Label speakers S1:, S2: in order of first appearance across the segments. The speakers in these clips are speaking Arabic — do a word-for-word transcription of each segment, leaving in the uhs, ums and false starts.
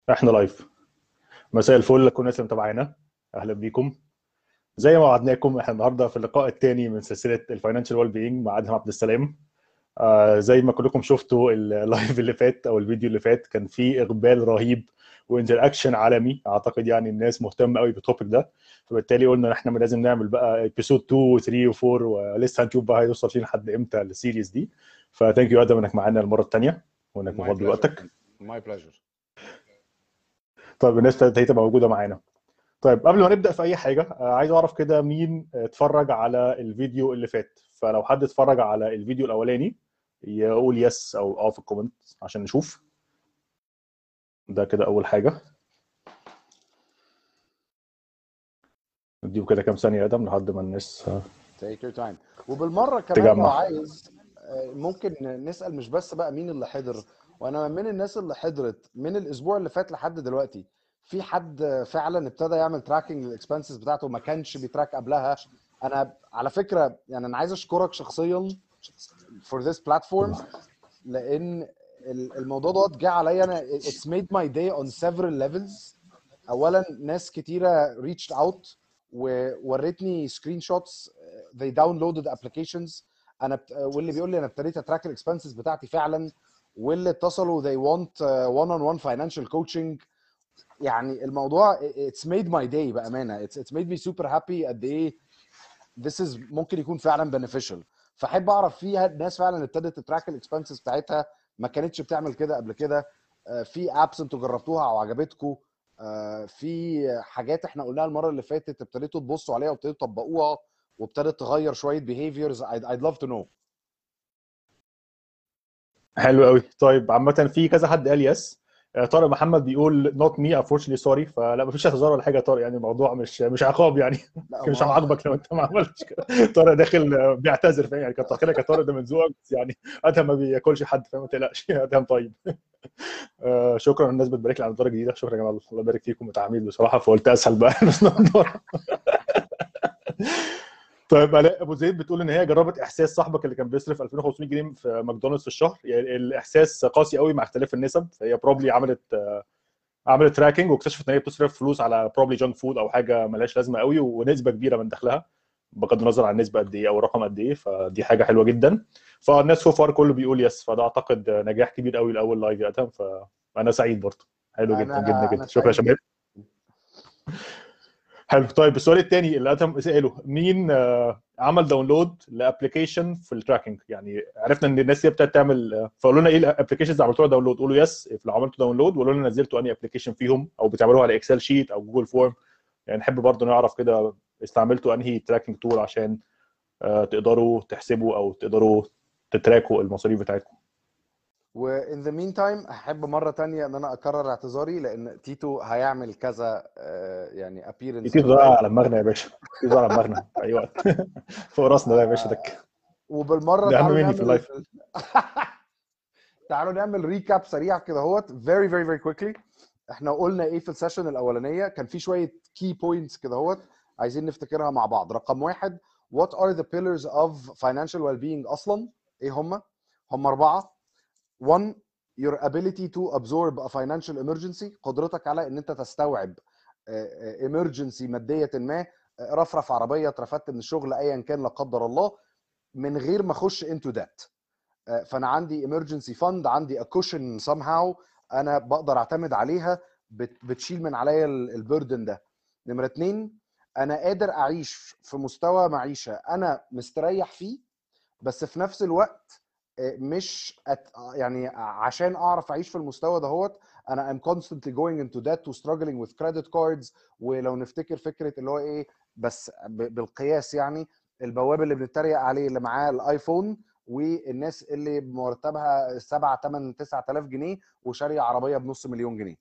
S1: احنا لايف. مساء الفل لكل الناس اللي متابعانا، اهلا بيكم. زي ما وعدناكم احنا النهارده في اللقاء الثاني من سلسله الفاينانشال ويل بينج مع ادهم عبد السلام. آه زي ما كلكم شفتوا اللايف اللي فات او الفيديو اللي فات كان فيه اقبال رهيب وانتر اكشن عالمي، اعتقد يعني الناس مهتمه قوي بالتوبيك ده. فبالتالي قلنا ان احنا لازم نعمل بقى ابيسود اتنين و3 و4، ولسه هنشوف بقى هيوصل فين لحد امتى السيريز دي. فثانك يو ادم انك معانا المره الثانيه وانك
S2: My
S1: مفضل
S2: pleasure.
S1: وقتك.
S2: My pleasure.
S1: طيب الناس ابتدت تبقى موجوده معانا. طيب قبل ما نبدأ في أي حاجة، آه، عايز أعرف كده مين آه، اتفرج على الفيديو اللي فات. فلو حد اتفرج على الفيديو الأولاني يقول يس أو أه في الكومنت عشان نشوف. ده كده أول حاجة. نديه كده كام ثانية يا آدم لحد ما الناس آه،
S2: Take your time. وبالمرة كمان لو
S1: تجمع.
S2: عايز آه، ممكن نسأل مش بس بقى مين اللي حضر، وانا من الناس اللي حضرت من الاسبوع اللي فات لحد دلوقتي في حد فعلا ابتدى يعمل تراكنج للاكسبنسز بتاعته ما كانش بيتراك قبلها. انا على فكرة يعني انا عايز اشكرك شخصيا for this platform، لان ال- الموضوع دوت جه عليا انا. it's made my day on several levels. اولا ناس كتيره reached out وورتني سكرين شوتس they downloaded applications. انا بت... واللي بيقول لي انا ابتديت اتراك الاكسبنسز بتاعتي فعلا، واللي اتصلوا they want uh, one on one financial coaching. يعني الموضوع it's made my day بامانه. it's, it's made me super happy قد ايه this is ممكن يكون فعلا beneficial. فاحب اعرف فيها ناس فعلا ابتدت تتراك الاكسبنسز بتاعتها ما كانتش بتعمل كده قبل كده. آه، في ابس انتوا جربتوها او عجبتكم؟ آه، في حاجات احنا قلناها المره اللي فاتت ابتديتوا تبصوا عليها وابتديتوا تطبقوها وابتدت تغير شويه behaviors. I'd, I'd love to know.
S1: حلو قوي. طيب عامة في كذا حد قال يس. آه، طارق محمد بيقول نوت مي unfortunately سوري، فلا مفيش اعتذار ولا حاجة يا طارق، يعني الموضوع مش مش عقاب يعني.
S2: لا
S1: مش
S2: ما
S1: هعاقبك لو انت ما عملتش كده. طارق داخل آه، بيعتذر، فاهم يعني؟ كتر خيرك يا طارق، ده من ذوقك، بس يعني ادهم ما بياكلش حد، فاهم؟ ما تقلقش ادهم طيب. آه شكرا الناس بتبارك لي على الدرجه الجديده، شكرا يا جماعه، الله يبارك فيكم، متعامل بصراحه فقلت اسهل بقى بس نضارة. طيب الاء ابو زيد بتقول ان هي جربت احساس صاحبك اللي كان بيصرف ألفين وخمسمية جنيه في ماكدونالدز في الشهر، يعني الاحساس قاسي قوي مع اختلاف النسب، فهي بروبلي عملت آه، عملت تراكنج واكتشفت ان هي بتصرف فلوس على بروبلي جانك فود او حاجه ملهاش لازمه قوي، ونسبه كبيره من دخلها بغض النظر عن النسبه قد ايه او الرقم قد ايه، فدي حاجه حلوه جدا. فالناس سو فار كله بيقول يس، فده اعتقد نجاح كبير قوي لاول لايف يا ادهم، فانا سعيد برضه. حلو جدا جدا
S2: انا انا
S1: جدا، شكرا يا
S2: سعيد
S1: شباب.
S2: جدا.
S1: حلو. طيب السؤال الثاني اللي ادهم ساله، مين آه، عمل داونلود لابلكيشن في التراكنج؟ يعني عرفنا ان الناس دي ابتدت تعمل آه، فقولوا لنا ايه الابلكيشنز اللي عملتوها داونلود، قولوا يس لو عملتوا داونلود، وقولوا لنا نزلتوا انهي ابلكيشن فيهم او بتعملوها على اكسل شيت او جوجل فورم. يعني نحب برضه نعرف كده استعملتوا انهي تراكنج تول عشان آه، تقدروا تحسبوا او تقدروا تتراكوا المصاريف بتاعتكم.
S2: وان ذا مين تايم احب مره تانية ان انا اكرر اعتذاري لان تيتو هيعمل كذا آه، يعني appearance في
S1: تيتو ده
S2: اللايف.
S1: على دماغنا يا باشا، تيتو ده على دماغنا في اي وقت. فوق راسنا ده يا باشا، ده
S2: وبالمره
S1: ده اهم
S2: تعالوا
S1: مني في
S2: نعمل
S1: اللايف.
S2: تعالوا نعمل ريكاب سريع كده اهوت very very very quickly. احنا قلنا ايه في السيشن الاولانيه؟ كان في شويه key points كده اهوت عايزين نفتكرها مع بعض. رقم واحد، what are the pillars of financial well-being اصلا؟ ايه هم؟ هم اربعه. one، your ability to absorb a financial emergency، قدرتك على ان انت تستوعب آه، آه، emergency ماديه ما، آه، رفرف عربيه، اترفدت من الشغل، ايا كان لا قدر الله، من غير ما اخش into that. آه، فانا عندي emergency fund، عندي a cushion somehow انا بقدر اعتمد عليها، بت- بتشيل من عليا البردن ده. نمره اتنين، انا قادر اعيش في مستوى معيشه انا مستريح فيه، بس في نفس الوقت آه، مش أت... يعني عشان اعرف اعيش في المستوى دهوت انا I'm constantly going into debt و struggling with credit cards. ولو نفتكر فكره اللي هو ايه، بس ب... بالقياس يعني، البواب اللي بنتريق عليه اللي معاه الايفون والناس اللي مرتبها سبعة تمانية تسعة آلاف جنيه وشاريه عربيه بنص مليون جنيه.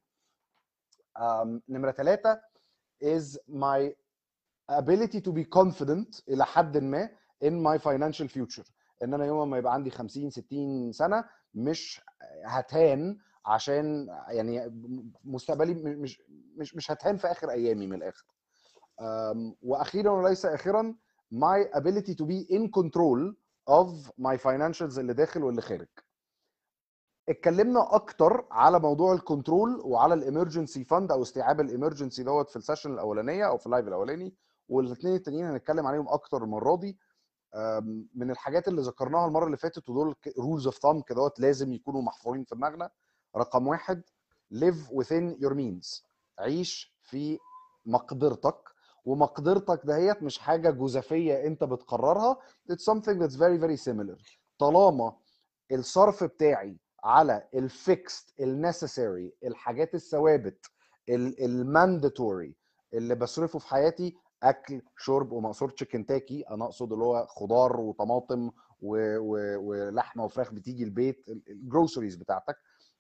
S2: آم، نمره ثلاثة is my ability to be confident الى حد ما in my financial future، ان انا يوم ما يبقى عندي خمسين ستين سنه مش هتهان، عشان يعني مستقبلي مش مش مش هتهان في اخر ايامي من الاخر. أم، واخيرا وليس اخرا، my ability to be in control of my financials اللي داخل واللي خارج. اتكلمنا اكتر على موضوع الكنترول وعلى الامرجنسي فاند او استيعاب الامرجنسي دوت في السيشن الاولانيه او في اللايف الاولاني، والاثنين التانيين هنتكلم عليهم اكتر المره دي. من الحاجات اللي ذكرناها المره اللي فاتت ودول رولز اوف ثامب كده لازم يكونوا محفورين في دماغنا. رقم واحد live within your means، عيش في مقدرتك، ومقدرتك دهيت مش حاجه جزافيه انت بتقررها. it's something that's very very similar. طالما الصرف بتاعي على الفيكست النسيسري، الحاجات الثوابت المانداتوري اللي بصرفه في حياتي، اكل شرب، وما اقصدش كنتاكي، انا اقصد اللي هو خضار وطماطم و... و... ولحمه وفراخ بتيجي البيت، الجروسريز بتاعتك،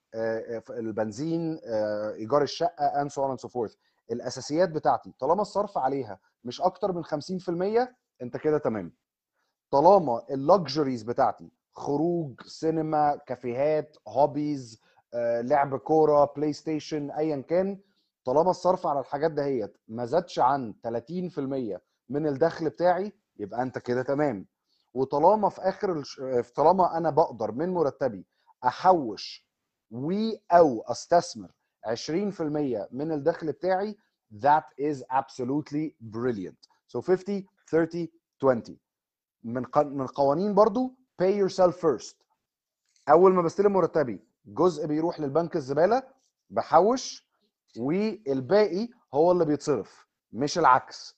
S2: البنزين، ايجار الشقه and so on and so forth. الاساسيات بتاعتي طالما الصرف عليها مش اكتر من خمسين في المية انت كده تمام. طالما اللكجريز بتاعتي خروج، سينما، كافيهات، هوبيز، لعب كوره، بلاي ستيشن، ايا كان، طالما الصرف على الحاجات دهيت ما زادش عن ثلاثين في المية من الدخل بتاعي يبقى انت كده تمام. وطالما في اخر الش... طالما انا بقدر من مرتبي احوش و او استثمر عشرين في المية من الدخل بتاعي، that is absolutely brilliant. so fifty thirty twenty. من من قوانين برضو pay yourself first. اول ما بستلم مرتبي جزء بيروح للبنك الزباله بحوش، والباقي هو اللي بيتصرف مش العكس.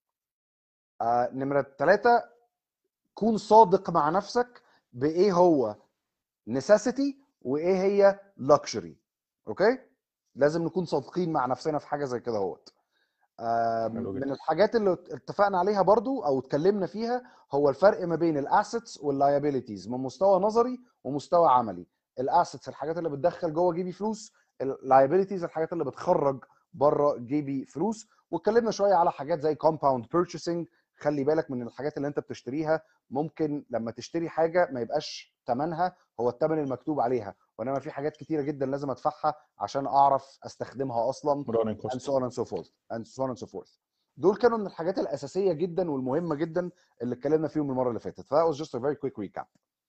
S2: آه نمره ثلاثة، كون صادق مع نفسك بايه هو necessity وايه هي luxury. اوكي، لازم نكون صادقين مع نفسنا في حاجه زي كده اهوت. من الحاجات اللي اتفقنا عليها برضو او اتكلمنا فيها هو الفرق ما بين الاسيتس واللايبيليتيز من مستوى نظري ومستوى عملي. الاسيتس الحاجات اللي بتدخل جوه جيبي فلوس، اللايبيليتيز الحاجات اللي بتخرج بره جيبي فلوس. واتكلمنا شويه على حاجات زي compound purchasing. خلي بالك من الحاجات اللي انت بتشتريها، ممكن لما تشتري حاجه ما يبقاش ثمنها هو الثمن المكتوب عليها، وانما في حاجات كتيره جدا لازم ادفعها عشان اعرف استخدمها اصلا and so on and so forth and so on and so forth. دول كانوا من الحاجات الاساسيه جدا والمهمه جدا اللي اتكلمنا فيهم المره اللي فاتت. ف that was just a very quick recap.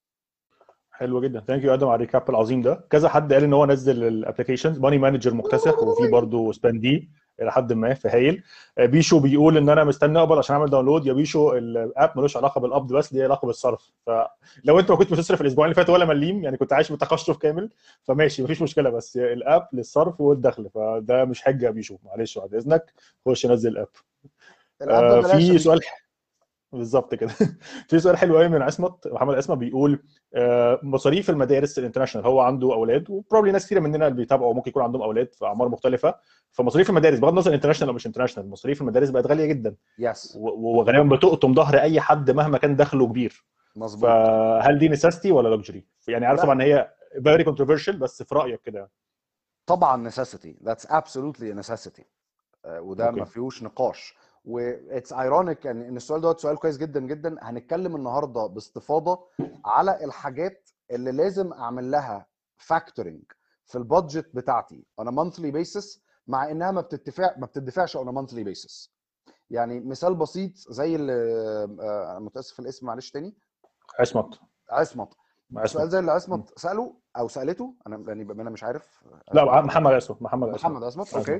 S1: حلو جدا، ثانك يو ادم على الريكاب العظيم ده. كذا حد قال ان هو نزل الابلكيشنز، ماني مانجر مكتسح وفي برضه سباندي الى حد ما في هايل. بيشو بيقول ان انا مستني اقبل عشان اعمل داونلود. يا بيشو الاب ملوش علاقه بالقبض بس، ليه علاقه بالصرف. فلو انت ما كنت بتصرف الاسبوعين اللي فاتوا ولا مليم، يعني كنت عايش بتقشف كامل، فماشي مفيش مشكله، بس الاب للصرف والدخل، فده مش حجه يا بيشو، معلش بعد اذنك خش نزل الاب.
S2: الاب ببلاش يا
S1: في
S2: بيشو.
S1: سؤال بالظبط كده. في سؤال حلو قوي من عصمت محمد عصمت بيقول مصاريف المدارس الانترناشونال، هو عنده اولاد وبروبلي ناس كثيره مننا اللي بيتابعوا ممكن يكون عندهم اولاد في اعمار مختلفه، فمصاريف المدارس بغض النظر انترناشونال او مش انترناشونال، مصاريف المدارس بقت غاليه جدا.
S2: يس.
S1: وغالبا بتقطم ظهر اي حد مهما كان دخله كبير.
S2: مظبوط.
S1: فهل دي نيسيستي ولا لوكجري؟ يعني عارف طبعا هي فيري كونتروفيرشال، بس في رايك كده؟
S2: طبعا necessity. that's absolutely a necessity. uh, وده
S1: أوكي.
S2: ما فيهوش نقاش. واتس ايرونيك يعني ان السؤال دوت سؤال كويس جدا جدا. هنتكلم النهارده باستفاضه على الحاجات اللي لازم اعمل لها فاكتورنج في البادجت بتاعتي on a monthly basis، مع انها ما بتدفع ما بتدفعش on a monthly basis. يعني مثال بسيط زي اللي انا متاسف الاسم معلش تاني.
S1: عصمت
S2: عصمت. سؤال زي اللي
S1: م.
S2: عصمت ساله او سالته، انا يعني انا مش عارف.
S1: لا محمد عصمت محمد عصمت
S2: محمد عصمت. اوكي.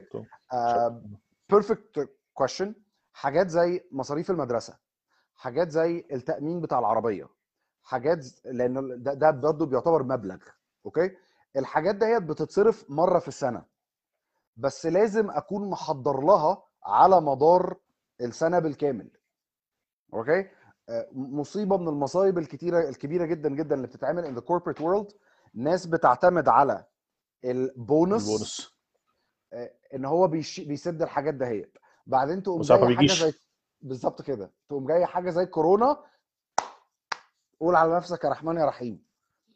S2: بيرفكت كويشن. حاجات زي مصاريف المدرسه، حاجات زي التامين بتاع العربيه، حاجات لان ده, ده برضه بيعتبر مبلغ. اوكي. الحاجات ديت بتتصرف مره في السنه، بس لازم اكون محضر لها على مدار السنه بالكامل. اوكي. مصيبه من المصايب الكتيره الكبيره جدا جدا اللي بتتعمل ان ذا كوربريت وورلد، ناس بتعتمد على البونص,
S1: البونص
S2: ان هو بيش... بيسد الحاجات دهيت، بعدين تقوم
S1: وساعات ما
S2: جايه حاجه
S1: بيجيش.
S2: زي بالظبط كده، تقوم جايه حاجه زي كورونا، قول على نفسك يا رحمن يا رحيم.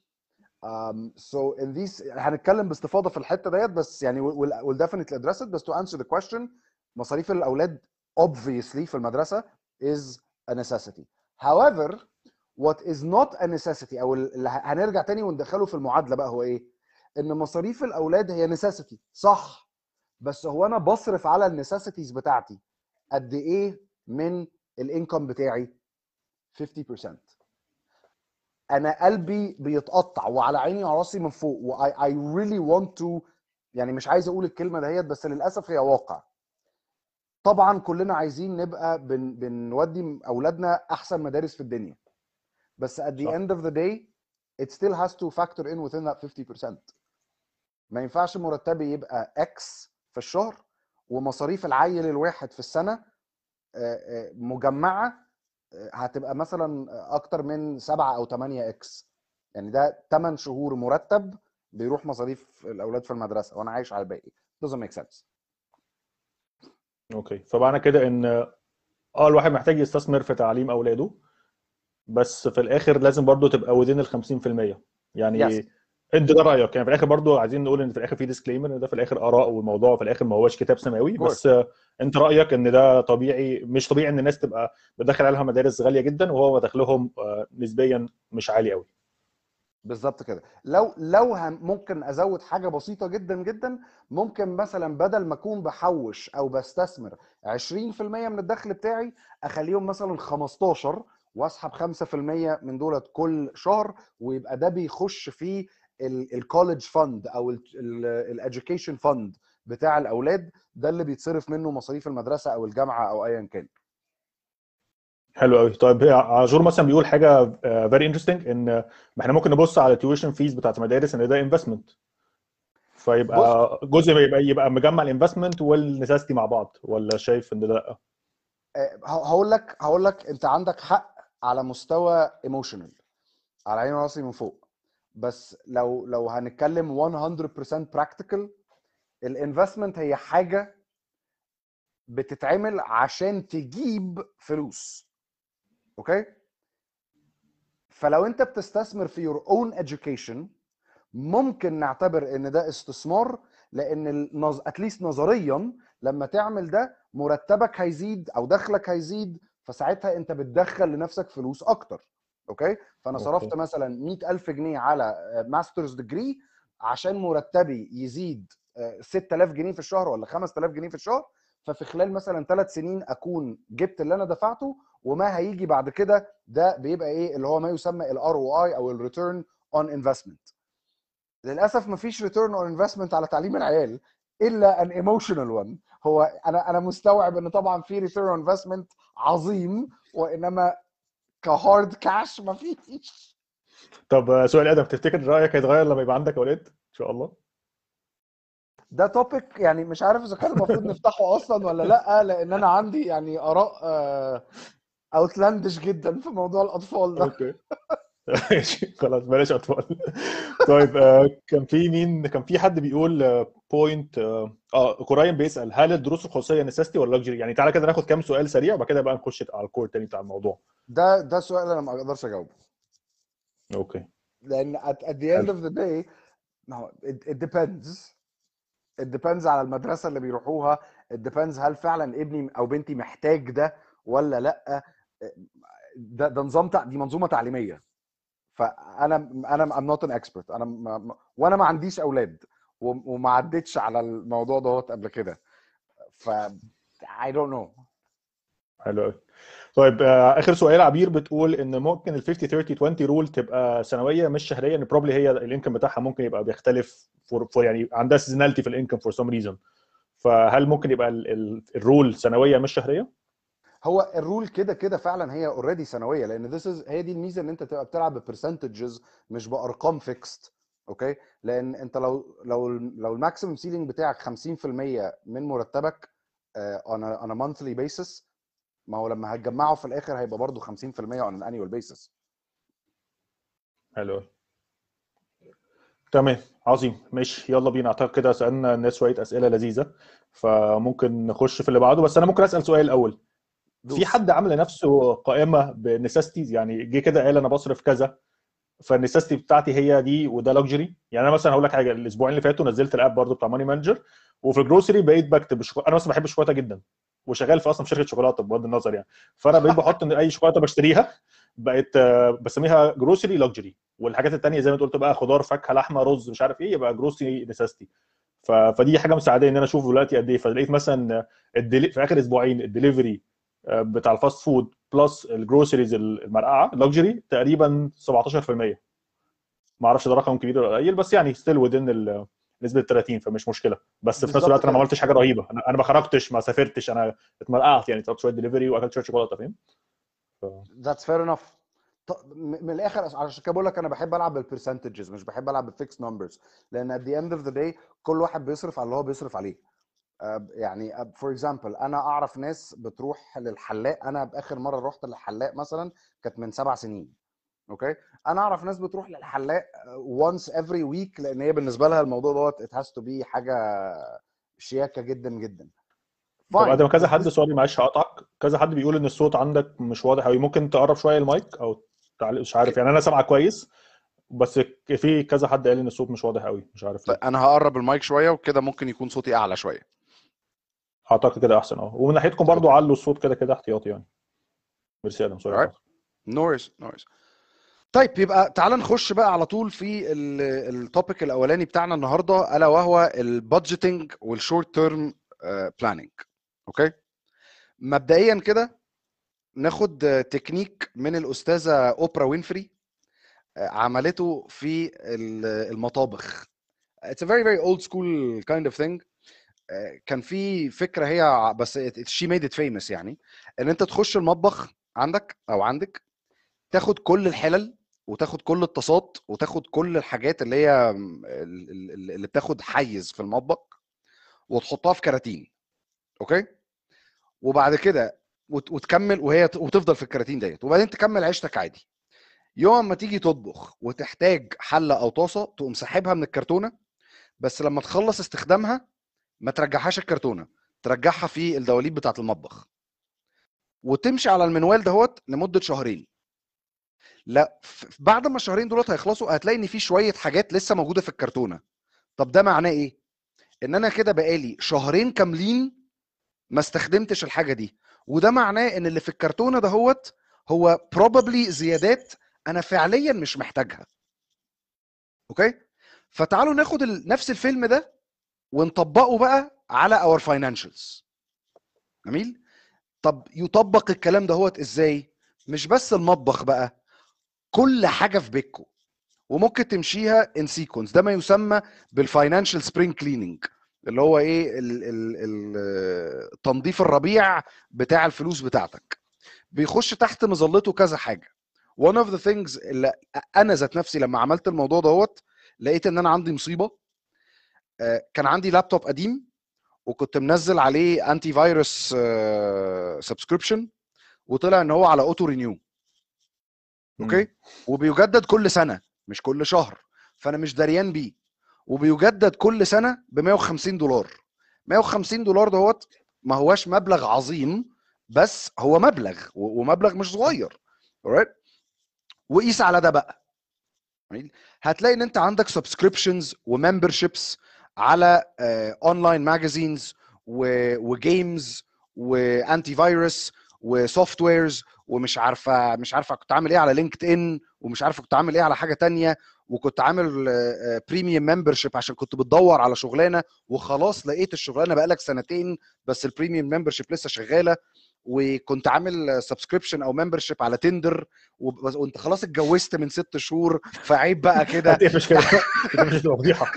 S2: um, so in these هنتكلم باستفاضه في الحته ديت، بس يعني we'll, we'll definitely address it. بس to answer the question، مصاريف الاولاد obviously في المدرسه is a necessity. however what is not a necessity او اللي هنرجع تاني وندخله في المعادله بقى هو ايه؟ ان مصاريف الاولاد هي necessity صح، بس هو انا بصرف على النسيسيتيز بتاعتي قد ايه من الانكم بتاعي؟ خمسين بالمية. انا قلبي بيتقطع وعلى عيني وعلى راسي من فوق و I, I really want to، يعني مش عايز اقول الكلمه دهيت بس للاسف هي واقع. طبعا كلنا عايزين نبقى بن بنودي اولادنا احسن مدارس في الدنيا، بس at the
S1: صح.
S2: end of the day it still has to factor in within that fifty percent. ما ينفعش مرتبي يبقى X في الشهر ومصاريف العيل الواحد في السنه آه، آه، مجمعه آه، هتبقى مثلا اكتر من سبعة او تمانية اكس. يعني ده تمن شهور مرتب بيروح مصاريف الاولاد في المدرسه وانا عايش على الباقي. doesn't make sense.
S1: اوكي، فمعنى كده ان اه الواحد محتاج يستثمر في تعليم اولاده، بس في الاخر لازم برضو تبقى within ال خمسين في المية.
S2: yes.
S1: يعني انت ده رايك؟ يعني في الاخر برضو عايزين نقول ان في الاخر في ديسكليمر ان ده في الاخر اراء، والموضوع في الاخر ما هوش كتاب سماوي،
S2: of course.
S1: بس آه، انت رايك ان ده طبيعي؟ مش طبيعي ان الناس تبقى بتدخل عليها مدارس غاليه جدا وهو دخلهم آه، نسبيا مش عالي قوي.
S2: بالظبط كده. لو لو هم ممكن ازود حاجه بسيطه جدا جدا، ممكن مثلا بدل ما اكون بحوش او بستثمر عشرين في المية من الدخل بتاعي اخليهم مثلا خمستاشر واسحب خمسة في المية من دولت كل شهر، ويبقى ده بيخش في الكوليدج فند او الاديوكيشن فند بتاع الاولاد، ده اللي بيتصرف منه مصاريف المدرسه او الجامعه او ايا كان.
S1: حلو قوي. طيب عاشور مثلا بيقول حاجه فيري انترستنج، ان ما احنا ممكن نبص على التيوشن فيز بتاعت المدارس ان ده انفستمنت،
S2: بص،
S1: فيبقى جزء يبقى يبقى مجمع الانفستمنت والنساستي مع بعض، ولا شايف ان ده لا؟
S2: آه، هقول لك هقول لك انت عندك حق على مستوى ايموشنال، على عيني وراسي من فوق. بس لو لو هنتكلم مية بالمية براكتيكال، الانفستمنت هي حاجه بتتعمل عشان تجيب فلوس. اوكي، فلو انت بتستثمر في your own education ممكن نعتبر ان ده استثمار، لان النظ... اتليست نظريا لما تعمل ده مرتبك هيزيد او دخلك هيزيد، فساعتها انت بتدخل لنفسك فلوس اكتر. اوكي، فانا صرفت
S1: اوكي.
S2: مثلا مية ألف جنيه على ماسترز ديجري عشان مرتبي يزيد آه، ستة آلاف جنيه في الشهر ولا خمسة آلاف جنيه في الشهر، ففي خلال مثلا ثلاث سنين اكون جبت اللي انا دفعته، وما هيجي بعد كده ده بيبقى ايه اللي هو ما يسمى الار او اي او الريتيرن اون انفستمنت. للاسف مفيش ريتيرن اون انفستمنت على تعليم العيال الا ان ايموشنال وان. هو انا انا مستوعب ان طبعا في ريتيرن اون انفستمنت عظيم، وانما كهارد كاش مفيش.
S1: طب سؤال ادم، تفتكر رايك هيتغير لما يبقى عندك اولاد ان شاء الله؟
S2: ده توبيك يعني مش عارف اذا كان المفروض نفتحه اصلا ولا لا، لان انا عندي يعني اراء اوتلاندش جدا في موضوع الاطفال ده.
S1: اوكي. ماشي خلاص بلاش اطفال. طيب آه، كان في مين كان في حد بيقول بوينت اه آه، قريب بيسال هل الدروس الخصوصيه نسيستي ولا لكجري؟ يعني تعالى كده ناخد كام سؤال سريع وبعد كده بقى نخش على الكور تاني بتاع الموضوع.
S2: ده ده سؤال انا ما اقدرش اجاوبه،
S1: اوكي.
S2: لان at, at the end
S1: حلو.
S2: of the day ما هو it, it depends. it depends على المدرسه اللي بيروحوها. it depends هل فعلا ابني او بنتي محتاج ده ولا لا. ده ده نظام تع... دي منظومه تعليميه. فانا انا I'm not an expert. انا ما... ما- وانا ما عنديش اولاد و- وما عدتش على الموضوع دوت قبل كده، ف I don't know.
S1: حلو قوي. طيب آه، اخر سؤال، عبير بتقول ان ممكن ال خمسين ثلاثين عشرين رول تبقى سنويه مش شهريه، ان بروبلي هي الانكم بتاعها ممكن يبقى بيختلف فور فور يعني عندها سيزوناليتي في الانكم فور سم ريزون، فهل ممكن يبقى الرول سنويه مش شهريه؟
S2: هو الرول كده كده فعلا هي اوريدي سنويه، لان this is هي دي الميزه ان انت تبقى بتلعب ببرسنتجز مش بارقام فيكست. اوكي، لان انت لو لو لو الماكسيمم سيلينج بتاعك خمسين في المية من مرتبك آه، on a on a monthly basis، ما هو لما هتجمعه في الاخر هيبقى برضه خمسين في المية on an annual basis.
S1: حلو قوي. تمام. عظيم. ماشي يلا بينا. اعتقد كده سالنا الناس شويه اسئله لذيذه، فممكن نخش في اللي بعده. بس انا ممكن اسال سؤال الاول. في
S2: دوس.
S1: حد عامل لنفسه قائمه بنساستيز؟ يعني جه كده قال انا بصرف كذا، فالنساستي بتاعتي هي دي وده لوكسجري. يعني انا مثلا هقول لك حاجه، الاسبوعين اللي فاتوا نزلت الاب برضو بتاع ماني مانجر، وفي الجروسري بقيت بكتب الشوكولاته. انا مثلا بحب الشوكولاته جدا وشغال في اصلا في شركه شوكولاته بغض النظر يعني، فانا بقيت بحط ان اي شوكولاته بشتريها بقيت آه، بسميها جروسري لوكسجري، والحاجات الثانيه زي ما انت قلت بقى خضار فاكهه لحمه رز مش عارف ايه يبقى جروسري نساستي. ف... فدي حاجه مساعداني ان انا اشوف دلوقتي قد ايه. فلقيت مثلا الدلي... في اخر اسبوعين الدليفري بتاع الفاست فود بلس الجروسريز المرقعه اللكجري تقريبا سبعتاشر في المية. ما اعرفش ده رقم كبير ولا قليل، بس يعني ستيل ودين نسبه ثلاثين، فمش مشكله. بس في نفس الوقت انا ما عملتش حاجه رهيبه، انا انا ما خرجتش ما سافرتش، انا اتمرقعت يعني، طلبت شويه دليفري واكلت شويه شوكولاته، فاهم؟ ف...
S2: That's fair enough. من الاخر عشان كده بقول لك انا بحب العب بالبرسنتجز، مش بحب العب بالفيكس نمبرز، لان at the end of the day كل واحد بيصرف على اللي هو بيصرف عليه. يعني فور اكزامبل انا اعرف ناس بتروح للحلاق، انا باخر مره رحت للحلاق مثلا كانت من سبع سنين. اوكي، انا اعرف ناس بتروح للحلاق once every week، لان هي بالنسبه لها الموضوع دوت it has to be حاجه شياكه جدا جدا.
S1: طب ادم،
S2: فاين
S1: كذا
S2: بس
S1: حد،
S2: this...
S1: سوري معلش هقطعك، كذا حد بيقول ان الصوت عندك مش واضح قوي، ممكن تقرب شويه المايك او تعلق، مش عارف يعني، انا سامعك كويس بس في كذا حد قال ان الصوت مش واضح قوي، مش عارف ليه.
S2: انا هقرب المايك شويه وكده ممكن يكون صوتي اعلى شويه.
S1: اعتقد كده احسن اه، ومن ناحيتكم برضو
S2: اوكي
S1: علوا الصوت كده كده احتياطي يعني. ميرسي ادم، سوري
S2: alright
S1: قطعتك.
S2: نورس نورس. طيب يبقى تعال نخش بقى على طول في التوبيك الاولاني بتاعنا النهارده، الا وهو البادجيتنج والشورت تيرم بلاننج. اوكي، مبدئيا كده ناخد تكنيك من الاستاذه اوبرا وينفري عملته في المطابخ. It's a very very old school kind of thing. كان في فكره هي بس she made it famous، يعني ان انت تخش المطبخ عندك او عندك، تاخد كل الحلل وتاخد كل الطاسات وتاخد كل الحاجات اللي هي اللي بتاخد حيز في المطبخ وتحطها في كراتين. اوكي، وبعد كده وتكمل وهي وتفضل في الكراتين ديت، وبعدين تكمل عيشتك عادي. يوم ما تيجي تطبخ وتحتاج حله او طاسه، تقوم ساحبها من الكرتونه، بس لما تخلص استخدامها ما ترجعهاش الكرتونه، ترجعها في الدواليب بتاعه المطبخ، وتمشي على المنوال دهوت لمده شهرين. لا بعد ما الشهرين دولت هيخلصوا هتلاقي ان في شويه حاجات لسه موجوده في الكرتونه. طب ده معناه ايه؟ ان انا كده بقالي شهرين كاملين ما استخدمتش الحاجه دي، وده معناه ان اللي في الكرتونه دهوت هو probably زيادات انا فعليا مش محتاجها. اوكي، فتعالوا ناخد نفس الفيلم ده ونطبقه بقى على اور فاينانشالز. جميل. طب يطبق الكلام دهوت ازاي؟ مش بس المطبخ بقى، كل حاجه في بيتكم، وممكن تمشيها ان سيكونس. ده ما يسمى بالفاينانشال سبرينج كليننج، اللي هو ايه ال ال ال تنظيف الربيع بتاع الفلوس بتاعتك. بيخش تحت مظلته كذا حاجه. one of the things اللي انا ذات نفسي لما عملت الموضوع دوت لقيت ان انا عندي مصيبه. كان عندي لابتوب قديم وكنت منزل عليه انتي فيروس سبسكريبشن، وطلع ان هو على اوتو رينيو. اوكي، وبيجدد كل سنه مش كل شهر، فانا مش دريان بيه، وبيجدد كل سنه ب مية وخمسين دولار. مية وخمسين دولار دهوت ما هواش مبلغ عظيم، بس هو مبلغ ومبلغ مش صغير. alright، وقيس على ده بقى، هتلاقي ان انت عندك سبسكريبشنز وممبرشيبس على اونلاين ماجازينز وجيمز وانتي فيروس وسوفت ويرز، ومش عارفه مش عارفه كنت عامل ايه على لينكد ان، ومش عارفه كنت عامل ايه على حاجه تانية، وكنت عامل بريميوم ممبرشيب عشان كنت بتدور على شغلانه وخلاص لقيت الشغلانه بقالك سنتين بس البريميوم ممبرشيب لسه شغاله، وكنت عامل سبسكريبشن او ممبرشيب على تندر وانت خلاص اتجوزت من ست شهور، فعيب بقى كده.
S1: هتقفش كده مش هتبقى فضيحه.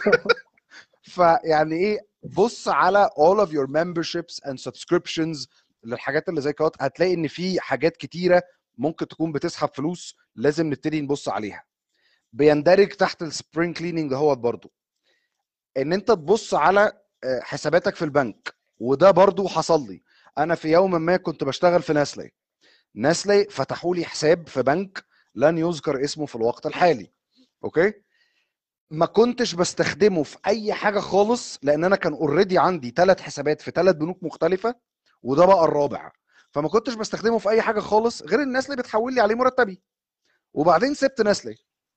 S2: فيعني ايه، بص على all of your memberships and subscriptions للحاجات اللي زي كده، هتلاقي ان في حاجات كتيره ممكن تكون بتسحب فلوس، لازم نبتدي نبص عليها. بيندرج تحت السبرينج كليننج دهوت برضو ان انت تبص على حساباتك في البنك، وده برضو حصل لي. انا في يوم ما كنت بشتغل في ناسلي ناسلي فتحوا لي حساب في بنك لن يذكر اسمه في الوقت الحالي. اوكي، ما كنتش بستخدمه في اي حاجه خالص، لان انا كان اوريدي عندي ثلاث حسابات في ثلاث بنوك مختلفه، وده بقى الرابع، فما كنتش بستخدمه في اي حاجه خالص غير الناس اللي بتحول لي عليه مرتبي. وبعدين سبت ناسلي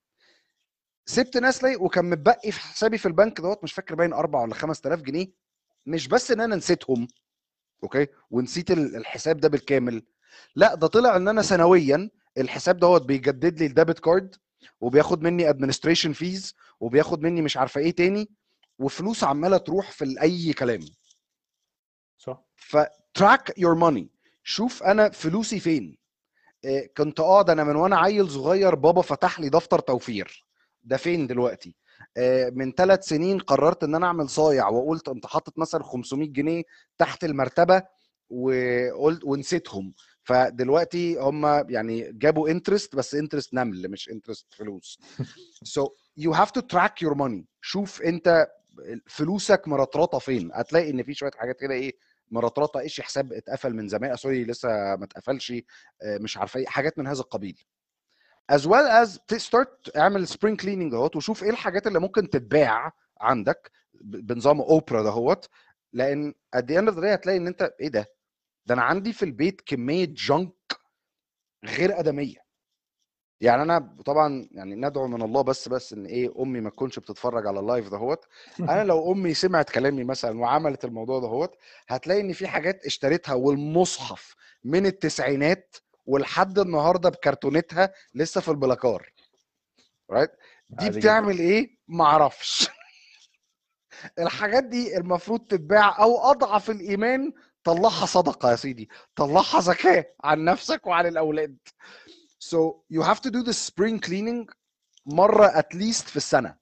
S2: سبت ناسلي وكان متبقي في حسابي في البنك دوت مش فاكر باين أربعة ولا خمس تلاف جنيه. مش بس ان انا نسيتهم، اوكي، ونسيت الحساب ده بالكامل، لا ده طلع ان انا سنويا الحساب دوت بيجدد لي الديبت كارد، وبياخد مني ادمنستريشن فيز، وبياخد مني مش عارفه ايه تاني، وفلوس عماله تروح في اي كلام.
S1: صح.
S2: فتراك يور ماني، شوف انا فلوسي فين. إيه، كنت اه ده انا من وانا عيل صغير بابا فتح لي دفتر توفير، ده فين دلوقتي؟ إيه، من ثلاث سنين قررت ان انا اعمل صايع وقلت انت حاطط مثلا خمسمية جنيه تحت المرتبه وقلت ونسيتهم، فدلوقتي هم يعني جابوا انترست بس انترست نمل مش انترست فلوس. so you have to track your money. شوف انت فلوسك مرطرطه فين، هتلاقي ان في شويه حاجات كده ايه مرطرطه، ايش حساب اتقفل من زمان، سوري لسه ما اتقفلش، مش عارفه ايه حاجات من هذا القبيل. as well as start اعمل spring cleaning اهوت وشوف ايه الحاجات اللي ممكن تتباع عندك بنظام اوبرا دهوت، لان at the end of the day هتلاقي ان انت ايه ده ده انا عندي في البيت كميه جنك غير ادميه. يعني انا طبعا يعني ندعو من الله بس بس ان ايه امي ما تكونش بتتفرج على اللايف دهوت. انا لو امي سمعت كلامي مثلا وعملت الموضوع دهوت هتلاقي ان في حاجات اشتريتها والمصحف من التسعينات ولحد النهارده بكرتونتها لسه في البلاكار. رايت دي
S1: عادي جدا.
S2: بتعمل ايه معرفش. الحاجات دي المفروض تتباع، او اضعف الايمان طلعها صدقه يا سيدي، طلعها زكاه عن نفسك وعن الاولاد. So you have to do the spring cleaning مرة at least في السنة.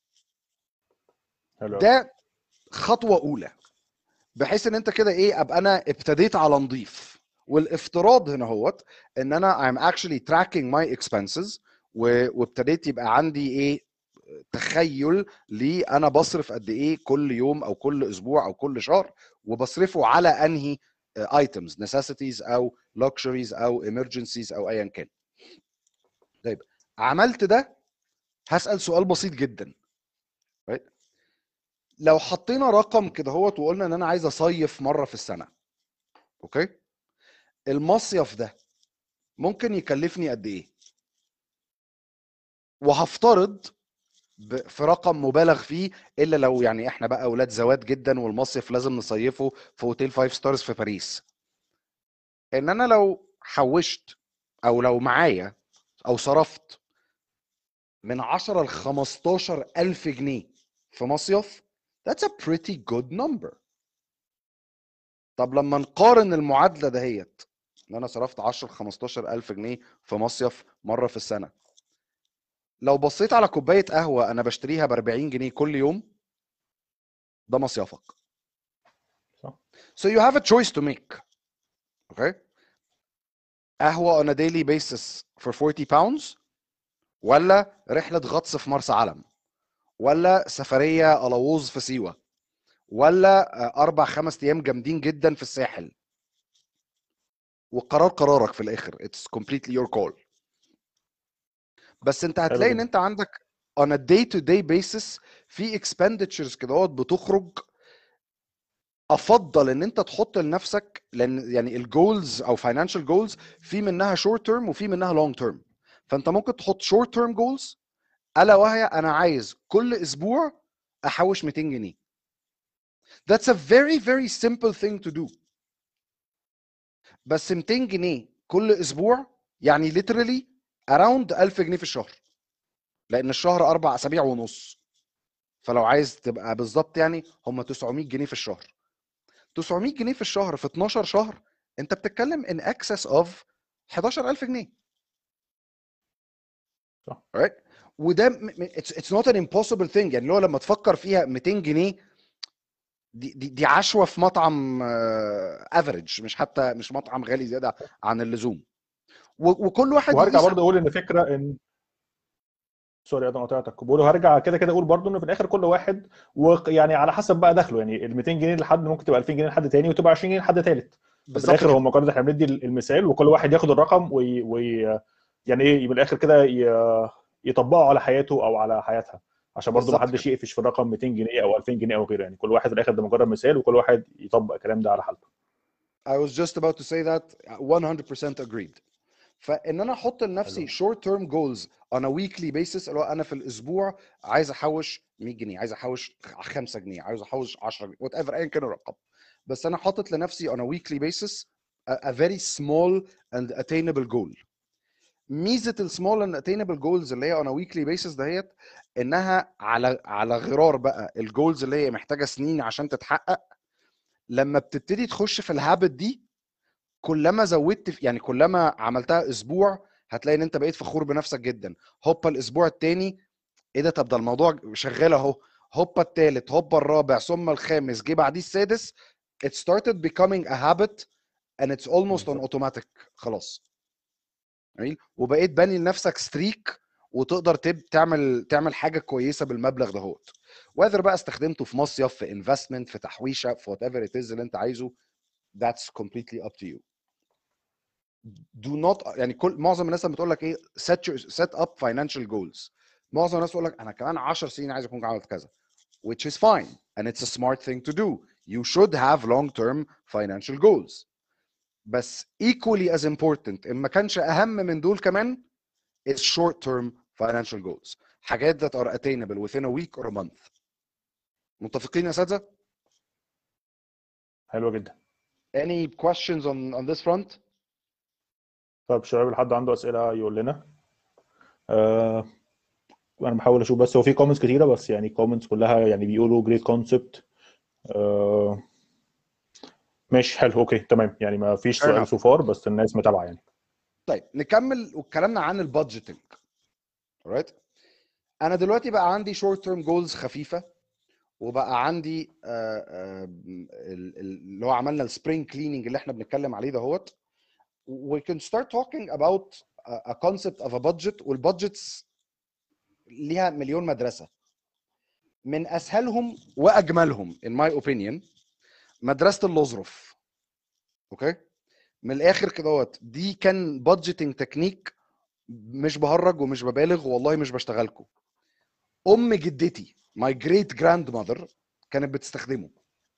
S1: حلو.
S2: ده خطوة أولى بحيث إن أنت كده إيه أبقى أنا ابتديت على نضيف. والافتراض هنا هوت إن أنا I'm actually tracking my expenses وابتديت يبقى عندي إيه تخيل لي أنا بصرف قد إيه كل يوم أو كل أسبوع أو كل شهر، وبصرفه على أنهي items necessities أو luxuries أو emergencies أو أيا كان. طيب عملت ده هسأل سؤال بسيط جدا. لو حطينا رقم كده هوت وقلنا ان انا عايز اصيف مره في السنه، اوكي، المصيف ده ممكن يكلفني قد ايه؟ وهفترض في رقم مبالغ فيه، الا لو يعني احنا بقى اولاد زوات جدا والمصيف لازم نصيفه في اوتيل فايف ستارز في باريس، ان انا لو حوشت او لو معايا او صرفت من عشرة ل خمستاشر الف جنيه في مصيف، that's a pretty good number. طب لما نقارن المعادله دهيت ان انا صرفت عشرة ل خمستاشر الف جنيه في مصيف مره في السنه، لو بصيت على كوبايه قهوه انا بشتريها ب اربعين جنيه كل يوم، ده مصيفك.
S1: صح.
S2: So you have a choice to make. Okay. قهوه on a daily basis for forty pounds، ولا رحله غطس في مرسى علم، ولا سفريه الووز في سيوه، ولا اربع خمس ايام جامدين جدا في الساحل. والقرار قرارك في الاخر. It's completely your call. بس انت
S1: حلو
S2: هتلاقي ان
S1: جدا.
S2: انت عندك on a day to day basis في expenditures كده بتخرج. افضل ان انت تحط لنفسك، لان يعني الجولز او financial goals في منها short term وفي منها long term. فانت ممكن تحط short term goals الا وهي انا عايز كل اسبوع احوش ميتين جنيه. That's a very very simple thing to do. بس ميتين جنيه كل اسبوع يعني literally around الف جنيه في الشهر، لان الشهر اربع اسابيع ونص. فلو عايز تبقى بالظبط يعني هم تسعمية جنيه في الشهر. تسعمية جنيه في الشهر في اتناشر شهر انت بتتكلم in excess of حداشر الف جنيه.
S1: صح.
S2: right. وده م- م- it's, it's not an impossible thing. يعني لو لما تفكر فيها ميتين جنيه دي دي, دي عشوه في مطعم افريج، مش حتى مش مطعم غالي زياده عن اللزوم. و- وكل واحد
S1: وهرجع
S2: يقيس.
S1: برضه اقول ان فكره ان سوري انا قطعتك، بقول هرجع كده كده اقول برضه ان في الاخر كل واحد ويعني على حسب بقى دخله، يعني ال ميتين جنيه لحد ممكن تبقى الفين جنيه لحد تاني وتبقى عشرين جنيه لحد ثالث. ففي
S2: بالظبط
S1: الاخر
S2: كده.
S1: هم مجرد احنا بندي المثال وكل واحد ياخد الرقم وي... وي... يعني ايه من الاخر كده ي... يطبقه على حياته او على حياتها، عشان برضه ما
S2: بالظبط
S1: حدش
S2: كده.
S1: يقفش في الرقم ميتين جنيه او الفين جنيه او غيره. يعني كل واحد في الاخر ده مجرد مثال وكل واحد يطبق الكلام ده على حالته.
S2: I was just about to say that one hundred percent agreed. فان انا احط لنفسي
S1: حلو.
S2: short term goals on a weekly basis، اللي هو انا في الاسبوع عايز احوش مية جنيه، عايز احوش خمسة جنيه، عايز احوش عشرة جنيه، وات ايفر ايا كان الرقم. بس انا حاطط لنفسي on a weekly basis a, a very small and attainable goal. ميزه السمول اند اتينبل جولز اللي هي on a weekly basis دهيت انها على على غرار بقى الجولز اللي هي محتاجه سنين عشان تتحقق. لما بتبتدي تخش في الهابت دي كلما زودت في يعني كلما عملتها اسبوع هتلاقي ان انت بقيت فخور بنفسك جدا. هوبا الاسبوع الثاني ايه ده، طب ده الموضوع شغال اهو. هوبا الثالث، هوبا الرابع، ثم الخامس، جه بعديه السادس. it started becoming a habit and it's almost on automatic. خلاص جميل. وبقيت باني لنفسك ستريك وتقدر تب تعمل تعمل حاجه كويسه بالمبلغ دهوت. whether بقى استخدمته في مصيف، في انفستمنت، في تحويشه، في وات ايفر ات از اللي انت عايزه، that's completely up to you. do not يعني كل معظم الناس لما بتقول لك ايه set your, set up financial goals، معظم الناس تقول لك انا كمان عشر سنين عايز اكون عملت كذا، which is fine and it's a smart thing to do. You should have long term financial goals. بس equally as important ان ما كانش اهم من دول كمان is short term financial goals. حاجات that are attainable within a week or a month. متفقين يا اساتذه؟
S1: حلوه جدا.
S2: Any questions on on this front؟
S1: طب شباب حد عنده اسئله يقول لنا. آه انا بحاول اشوف بس هو في كومنتس كتيره، بس يعني كومنتس كلها يعني بيقولوا جريت كونسبت. آه ماشي حلو اوكي تمام، يعني ما فيش سؤال سو فار بس الناس متابعه يعني.
S2: طيب نكمل وكلامنا عن البادجيتنج. alright. انا دلوقتي بقى عندي شورت تيرم جولز خفيفه، وبقى عندي آه، آه، ال- ال- اللي هو عملنا السبرينج كليننج اللي احنا بنتكلم عليه دهوت. we can start talking about a concept of a budget. والبادجتس ليها مليون مدرسه. من اسهلهم واجملهم in my opinion مدرسه اللوزروف. اوكي من الاخر كده اهوت، دي كان بادجيتنج تكنيك، مش بهرج ومش ببالغ والله مش بشتغلكم. ام جدتي my great grandmother كانت بتستخدمه.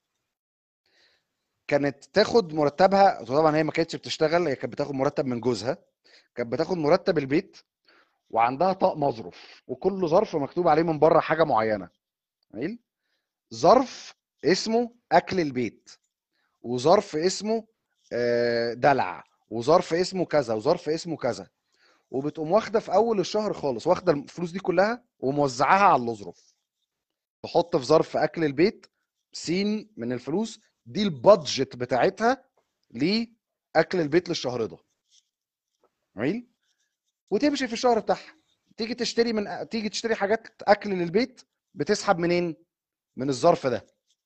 S2: كانت تاخد مرتبها، طبعا هي ما كانتش بتشتغل، هي كانت بتاخد مرتب من جوزها، كانت بتاخد مرتب البيت وعندها طقم مظرف، وكل ظرف مكتوب عليه من بره حاجه معينه. جميل. ظرف اسمه اكل البيت، وظرف اسمه آه، دلع، وظرف اسمه كذا، وظرف اسمه كذا. وبتقوم واخده في اول الشهر خالص، واخده الفلوس دي كلها وموزعاها على الاظرف. تحط في ظرف اكل البيت سين من الفلوس دي البادجت بتاعتها لاكل البيت للشهر ده. جميل. وتمشي في الشهر بتاعها، تيجي تشتري من تيجي تشتري حاجات اكل للبيت، بتسحب منين؟ من الظرف ده.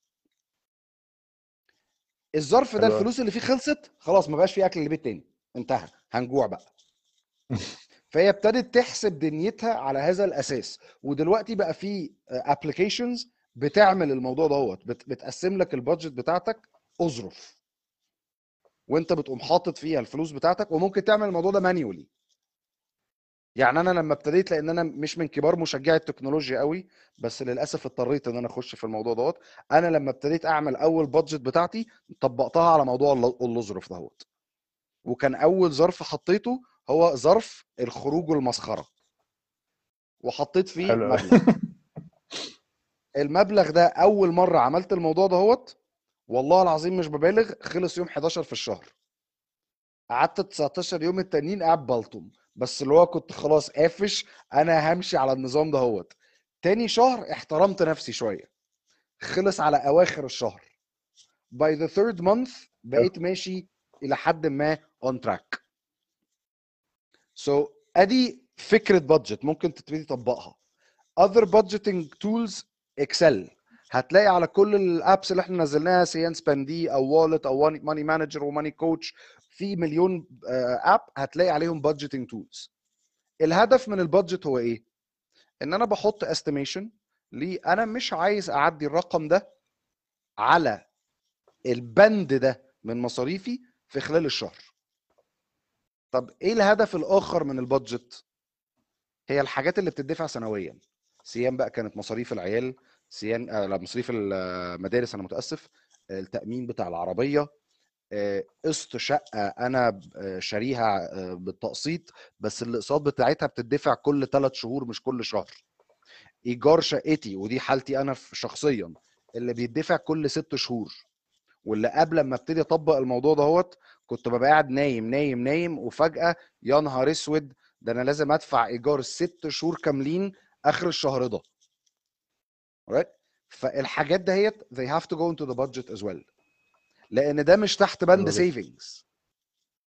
S2: الظرف ده
S1: حلو.
S2: الفلوس اللي فيه خلصت خلاص، ما بقاش فيه اكل للبيت تاني، انتهى، هنجوع بقى. فهي ابتدت تحسب دنيتها على هذا الاساس. ودلوقتي بقى في ابلكيشنز بتعمل الموضوع دوت، بتقسم لك البادجت بتاعتك اظرف، وانت بتقوم حاطط فيها الفلوس بتاعتك. وممكن تعمل الموضوع ده مانيولي. يعني انا لما ابتديت، لان انا مش من كبار مشجعي التكنولوجيا قوي، بس للاسف اضطريت ان انا اخش في الموضوع دوت. انا لما ابتديت اعمل اول بادجت بتاعتي طبقتها على موضوع الاظرف دوت. وكان اول ظرف حطيته هو ظرف الخروج والمسخره، وحطيت فيه
S1: حلو.
S2: مبلغ. المبلغ ده اول مره عملت الموضوع دهوت والله العظيم مش ببالغ، خلص يوم حداشر في الشهر. قعدت تسعتاشر يوم التانيين قاعد بلطم، بس اللي هو كنت خلاص قافش انا همشي على النظام دهوت. تاني شهر احترمت نفسي شويه، خلص على اواخر الشهر. by the third month بقيت ماشي الى حد ما on track. so ادي فكره بادجت ممكن تبتدي تطبقها. other budgeting tools اكسل، هتلاقي على كل الابس اللي احنا نزلناها، سيان سباندي او والت او ماني مانجر وماني كوتش، في مليون اب هتلاقي عليهم budgeting tools. الهدف من البادجت هو ايه؟ ان انا بحط استيميشن ليه انا مش عايز اعدي الرقم ده على البند ده من مصاريفي في خلال الشهر. طب ايه الهدف الاخر من البادجت؟ هي الحاجات اللي بتدفع سنويا، سيان بقى كانت مصاريف العيال، سيان آه لا مصاريف المدارس انا متاسف، التامين بتاع العربيه، قسط شقه انا شاريها بالتقسيط بس الاقساط بتاعتها بتدفع كل ثلاث شهور مش كل شهر. ايجار شقتي، ودي حالتي انا شخصيا، اللي بيدفع كل ست شهور. واللي قبل ما ابتدي اطبق الموضوع دهوت كنت ببقى قاعد نايم نايم نايم، وفجاه يا نهار اسود ده انا لازم ادفع ايجار ست شهور كاملين اخر الشهر ده. right؟ فالحاجات دهيت they have to go into the budget as well، لان ده مش تحت بند savings.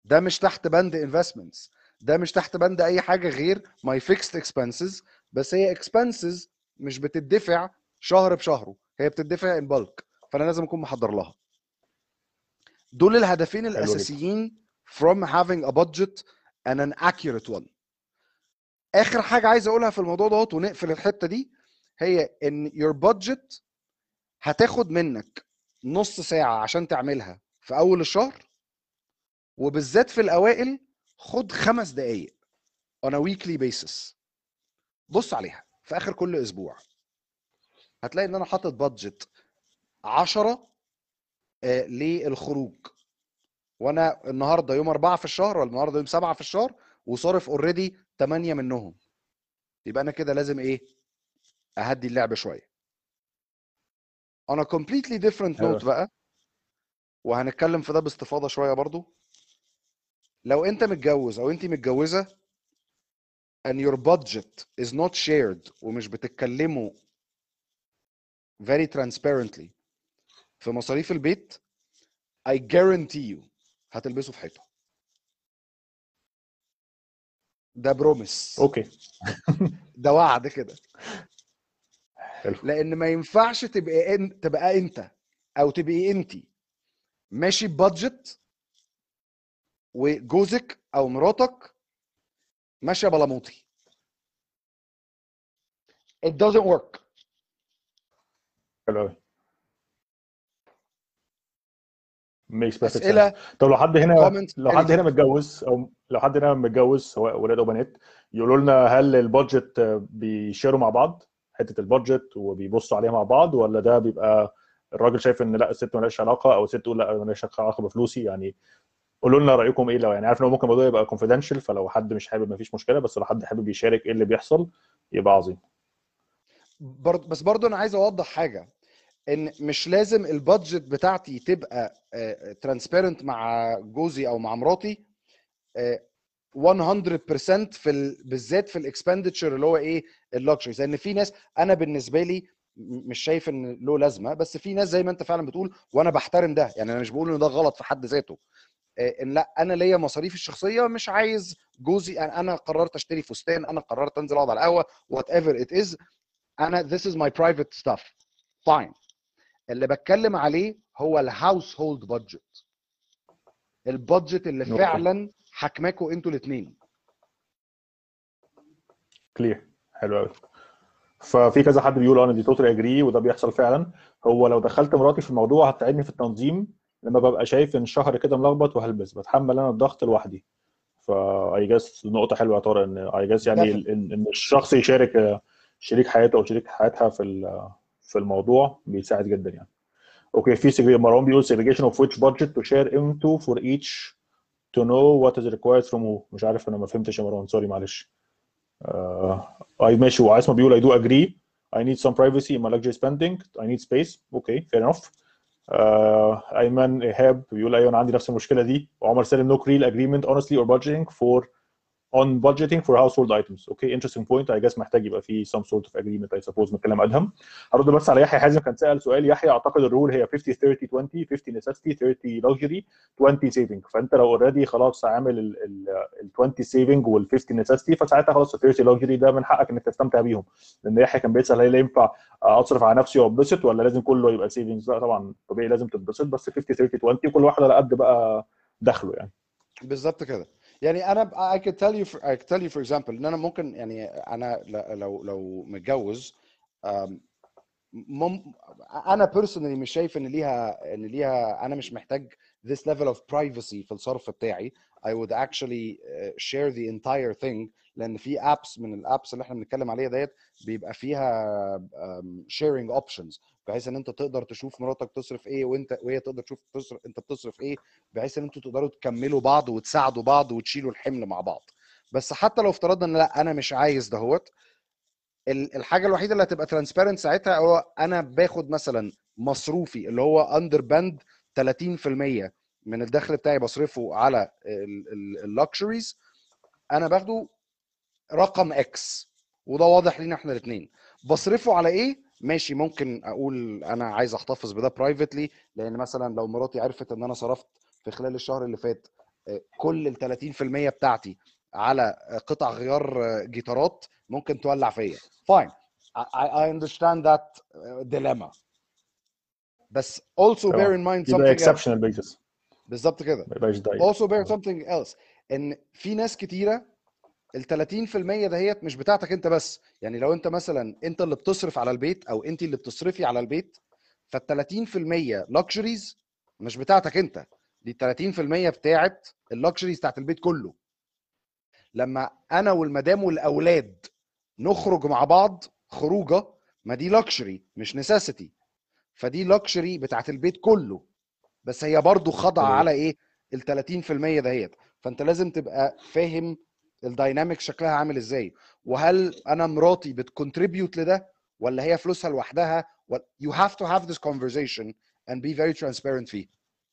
S2: ده مش تحت بند investments، ده مش تحت بند اي حاجه غير my fixed expenses، بس هي expenses مش بتدفع شهر بشهره، هي بتدفع in bulk، فانا لازم اكون محضر لها. دول الهدفين
S1: حلو جدا.
S2: الاساسيين from having a budget and an accurate one. اخر حاجه عايز اقولها في الموضوع دوت ونقفل الحته دي، هي ان your budget هتاخد منك نص ساعه عشان تعملها في اول الشهر، وبالذات في الاوائل خد خمس دقائق on a weekly basis، بص عليها في اخر كل اسبوع، هتلاقي ان انا حاطط بادجت عشرة آه للخروج، وانا النهارده يوم أربعة في الشهر ولا النهارده يوم سبعة في الشهر وصارف اوريدي ثمانية منهم، يبقى انا كده لازم ايه؟ اهدي اللعب شويه. on a completely different
S1: حلو.
S2: note بقى، وهنتكلم في ده باستفاضه شويه برضو، لو انت متجوز او انت متجوزه and your budget is not shared ومش بتتكلموا very transparently في مصاريف البيت، I guarantee you هتلبسوا في حيطه. ده بروميس،
S1: اوكي.
S2: ده وعد كده.
S1: حلو.
S2: لان ما ينفعش تبقى انت تبقى انت او تبقي انت ماشي ببادجت وجوزك او مراتك ماشيه بلاموطي. It doesn't work.
S1: حلو قوي. makes perfect sense.
S2: اسئله
S1: طب لو حد هنا
S2: comments
S1: لو حد هنا
S2: anything.
S1: متجوز او لو حد هنا متجوز سواء ولاد او بنات، يقولوا لنا هل البادجت بيشيروا مع بعض حته البادجت وبيبصوا عليها مع بعض، ولا ده بيبقى الراجل شايف ان لا الست مالهاش علاقه او الست تقول لا مالهاش علاقه بفلوسي؟ يعني قولوا لنا رايكم ايه. لو يعني عارف ان ممكن الموضوع يبقى كونفيدنشال، فلو حد مش حابب مفيش مشكله، بس لو حد حابب يشارك ايه اللي بيحصل يبقى عظيم.
S2: برضه بس برضه انا عايز اوضح حاجه، ان مش لازم البادجت بتاعتي تبقى ترانسبيرنت مع جوزي او مع مراتي مية بالمية في ال... بالذات في الاكسبندتشر اللي هو ايه اللكشريز، لان في ناس انا بالنسبه لي مش شايف ان له لازمه، بس في ناس زي ما انت فعلا بتقول وانا بحترم ده، يعني انا مش بقول ان ده غلط في حد ذاته، ان لا انا ليا مصاريفي الشخصيه، مش عايز جوزي، انا قررت اشتري فستان، انا قررت انزل اقعد على القهوه وات ايفر ات از، انا this is my private stuff fine. اللي بتكلم عليه هو الهاوس هولد بادجت، البادجت اللي
S1: اوكي.
S2: فعلا حكماكوا انتوا الاثنين.
S1: كلير. حلو قوي. ففي كذا حد بيقول انا دي توتال اجري، وده بيحصل فعلا. هو لو دخلت مراتي في الموضوع هتساعدني في التنظيم، لما ببقى شايف ان الشهر كده ملخبط وهلبس بتحمل انا الضغط لوحدي. فاي جاس نقطه حلوه يا طارق، ان اي جاس يعني
S2: Definitely.
S1: ان ان الشخص يشارك شريك حياته او شريك حياتها في في الموضوع بيساعد جدا يعني. اوكي. في سجل مروان بيقول segregation of which budget to share into for each to know what is required from who. مش عارف انا ما فهمتش يا مروان، سوري معلش. اي ماشي. وعايز بيقول I do agree I need some privacy in my luxury spending I need space. اوكي fair enough. uh, ايمن ايهاب بيقول ايوه انا عندي نفس المشكله دي. وعمر سالم no real agreement honestly or budgeting for on budgeting for household items. okay interesting point. I guess محتاج يبقى في some sort of agreement I suppose من كلام ادهم. هرد بس على يحيى حازم كان سال سؤال. يحيى اعتقد الرول هي خمسين ثلاثين عشرين خمسين necessity ثلاثين luxury عشرين saving. فانت لو اوريدي خلاص عامل ال عشرين saving وال خمسين necessity فساعتها خلاص ال ثلاثين luxury ده من حقك انك تستمتع بيهم. لان يحيى كان بيسال هل ينفع اصرف على نفسي واتبسط ولا لازم كله يبقى savings؟ لا طبعا طبيعي لازم تتبسط، بس خمسين ثلاثين عشرين وكل واحد على قد بقى دخله يعني.
S2: بالظبط كده. يعني انا I could tell you for, I could tell you for example ان انا ممكن يعني انا لو لو متجوز مم انا personally مش شايف ان ليها ان ليها انا مش محتاج this level of privacy في الصرف بتاعي. I would actually share the entire thing، لان في apps من الابس اللي احنا بنتكلم عليها ديت بيبقى فيها sharing options، بحيث ان انت تقدر تشوف مراتك تصرف ايه وانت وهي تقدر تشوف تصرف انت بتصرف ايه، بحيث ان انتوا تقدروا تكملوا بعض وتساعدوا بعض وتشيلوا الحمل مع بعض. بس حتى لو افترضنا ان لا انا مش عايز دهوت، الحاجه الوحيده اللي هتبقى ترانسبيرنت ساعتها هو انا باخد مثلا مصروفي اللي هو اندر باند ثلاثين بالمية من الدخل بتاعي بصرفه على اللكشريز، انا باخده رقم اكس وده واضح لينا احنا الاثنين. بصرفه على ايه؟ ماشي، ممكن اقول انا عايز احتفظ بده برايفتلي، لان مثلا لو مراتي عرفت ان انا صرفت في خلال الشهر اللي فات كل ال ثلاثين في المية بتاعتي على قطع غيار جيتارات ممكن تولع فيا. fine, I, I understand that dilemma, بس also bear in mind
S1: يبقى
S2: something else.
S1: exceptional basis
S2: بالظبط كده.
S1: ما يبقاش دايما.
S2: also bear something else ان في ناس كتيره ال ثلاثين في المية دهيت مش بتاعتك انت بس. يعني لو انت مثلا انت اللي بتصرف على البيت او انت اللي بتصرفي على البيت، فال ثلاثين في المية luxuries مش بتاعتك انت، دي ال ثلاثين في المية بتاعت اللكشريز بتاعت البيت كله. لما انا والمدام والاولاد نخرج مع بعض خروجه، ما دي لكشري مش نسيسيتي، فدي لكشري بتاعت البيت كله، بس هي برضو خاضعه على ايه؟ ال ثلاثين في المية دهيت. فانت لازم تبقى فاهم الدايناميك شكلها عامل ازاي، وهل انا مراتي بتكونتريبيوت لده ولا هي فلوسها لوحدها. you have to have this conversation and be very transparent فيه.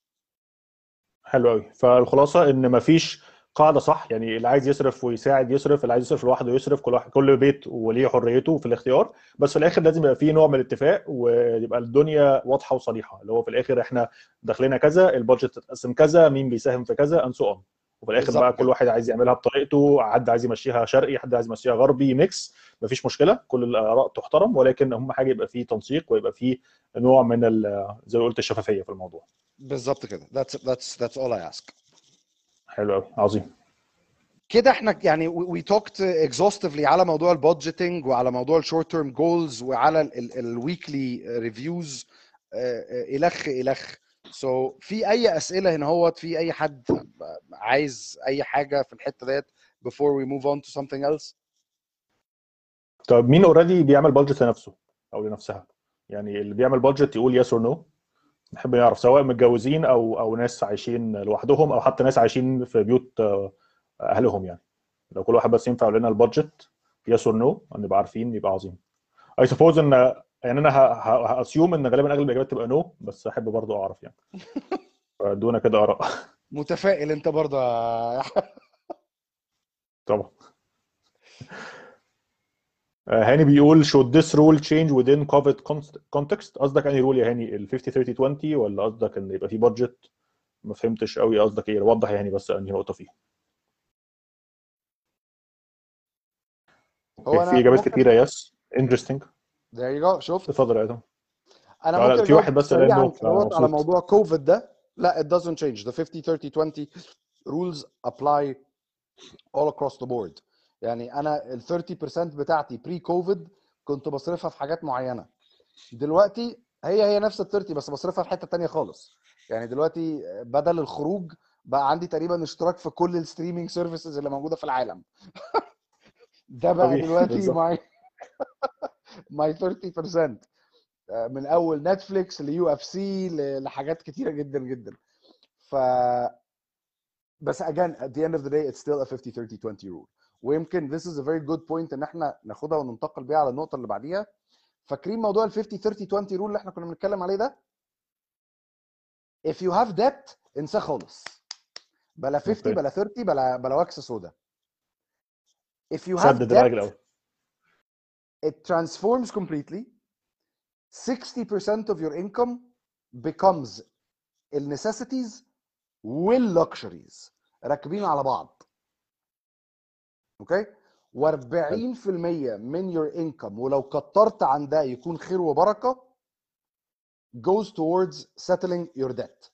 S1: حلو قوي. فالخلاصه ان مفيش قاعده صح، يعني اللي عايز يصرف ويساعد يصرف، اللي عايز يصرف لوحده يصرف، كل واحد كل بيت وليه حريته في الاختيار، بس في الاخر لازم يبقى فيه نوع من الاتفاق ويبقى الدنيا واضحه وصريحه، اللي هو في الاخر احنا داخلنا كذا، البادجت تتقسم كذا، مين بيساهم في كذا and so on. وفي الاخر
S2: بالظبط
S1: بقى كل
S2: كده.
S1: واحد عايز يعملها بطريقته، حد عايز يمشيها شرقي، حد عايز يمشيها غربي، ميكس، مفيش مشكله، كل الاراء تحترم، ولكن اهم حاجه يبقى فيه تنسيق ويبقى فيه نوع من ال- زي ما قلت الشفافيه في الموضوع.
S2: بالظبط كده. that's that's that's all I ask.
S1: حلو قوي، عظيم.
S2: كده احنا يعني we talked exhaustively على موضوع البادجيتنج وعلى موضوع الشورت تيرم جولز وعلى الويكلي ريفيوز الخ الخ. سو so, في اي اسئله هنا هوت؟ في اي حد عايز اي حاجه في الحته ديت before we move on to something else؟
S1: طب مين اوريدي بيعمل بادجت لنفسه او لنفسها؟ يعني اللي بيعمل بادجت يقول يس اور نو، نحب نعرف، سواء متجوزين او او ناس عايشين لوحدهم او حتى ناس عايشين في بيوت اهلهم. يعني لو كل واحد بس ينفع يقول لنا البادجت يس اور نو نبقى عارفين، يبقى عظيم. اي سبوز ان يعني انا هاسيوم ان غالبا اغلب الاجابات تبقى نو، بس احب برضو اعرف يعني. فدونا كده اراء.
S2: متفائل انت برضه؟
S1: طبعا. هاني بيقول should this rule change within COVID context؟ قصدك انهي رول يا هاني، ال خمسين ثلاثين عشرين ولا قصدك ان يبقى في بادجت؟ ما فهمتش قوي قصدك ايه، وضح يا هاني بس انهي نقطه فيه.
S2: هو
S1: في
S2: انا
S1: اجابات
S2: ممكن
S1: كتيره يس انترستنج.
S2: there you go. شفت؟
S1: اتفضل يا ادم.
S2: انا
S1: لا
S2: ممكن
S1: لا، في
S2: اجاوب
S1: واحد بس قال
S2: سريعا
S1: نو
S2: كده على
S1: فمبسوط.
S2: موضوع كوفيد ده. لا it doesn't change. the fifty thirty twenty rules apply all across the board. يعني انا ال ثلاثين بالمية بتاعتي بري كوفيد كنت بصرفها في حاجات معينه، دلوقتي هي هي نفس ال ثلاثين بس بصرفها في حته تانية خالص. يعني دلوقتي بدل الخروج بقى عندي تقريبا اشتراك في كل الستريمينج سيرفيسز اللي موجوده في العالم. ده بقى
S1: طبيعي
S2: دلوقتي
S1: بالظبط.
S2: ماي ماي ثلاثين بالمية، من اول نتفليكس ليو اف سي لحاجات كتيره جدا جدا. ف بس again at the end of the day it's still a fifty thirty twenty rule. ويمكن this is a very good point ان احنا ناخدها وننتقل بيها على النقطه اللي بعديها. فاكرين موضوع ال fifty thirty twenty rule اللي احنا كنا بنتكلم عليه ده؟ if you have debt انساه خالص، بلا خمسين بلا ثلاثين بلا بلا وكس سودا. if you have
S1: سدد الراجل
S2: debt
S1: الاول.
S2: it transforms completely. sixty percent of your income becomes النسيسيتيز واللكشريز راكبين على بعض. اوكي؟ و40% من your income ولو كترت عن ده يكون خير وبركه goes towards settling your debt.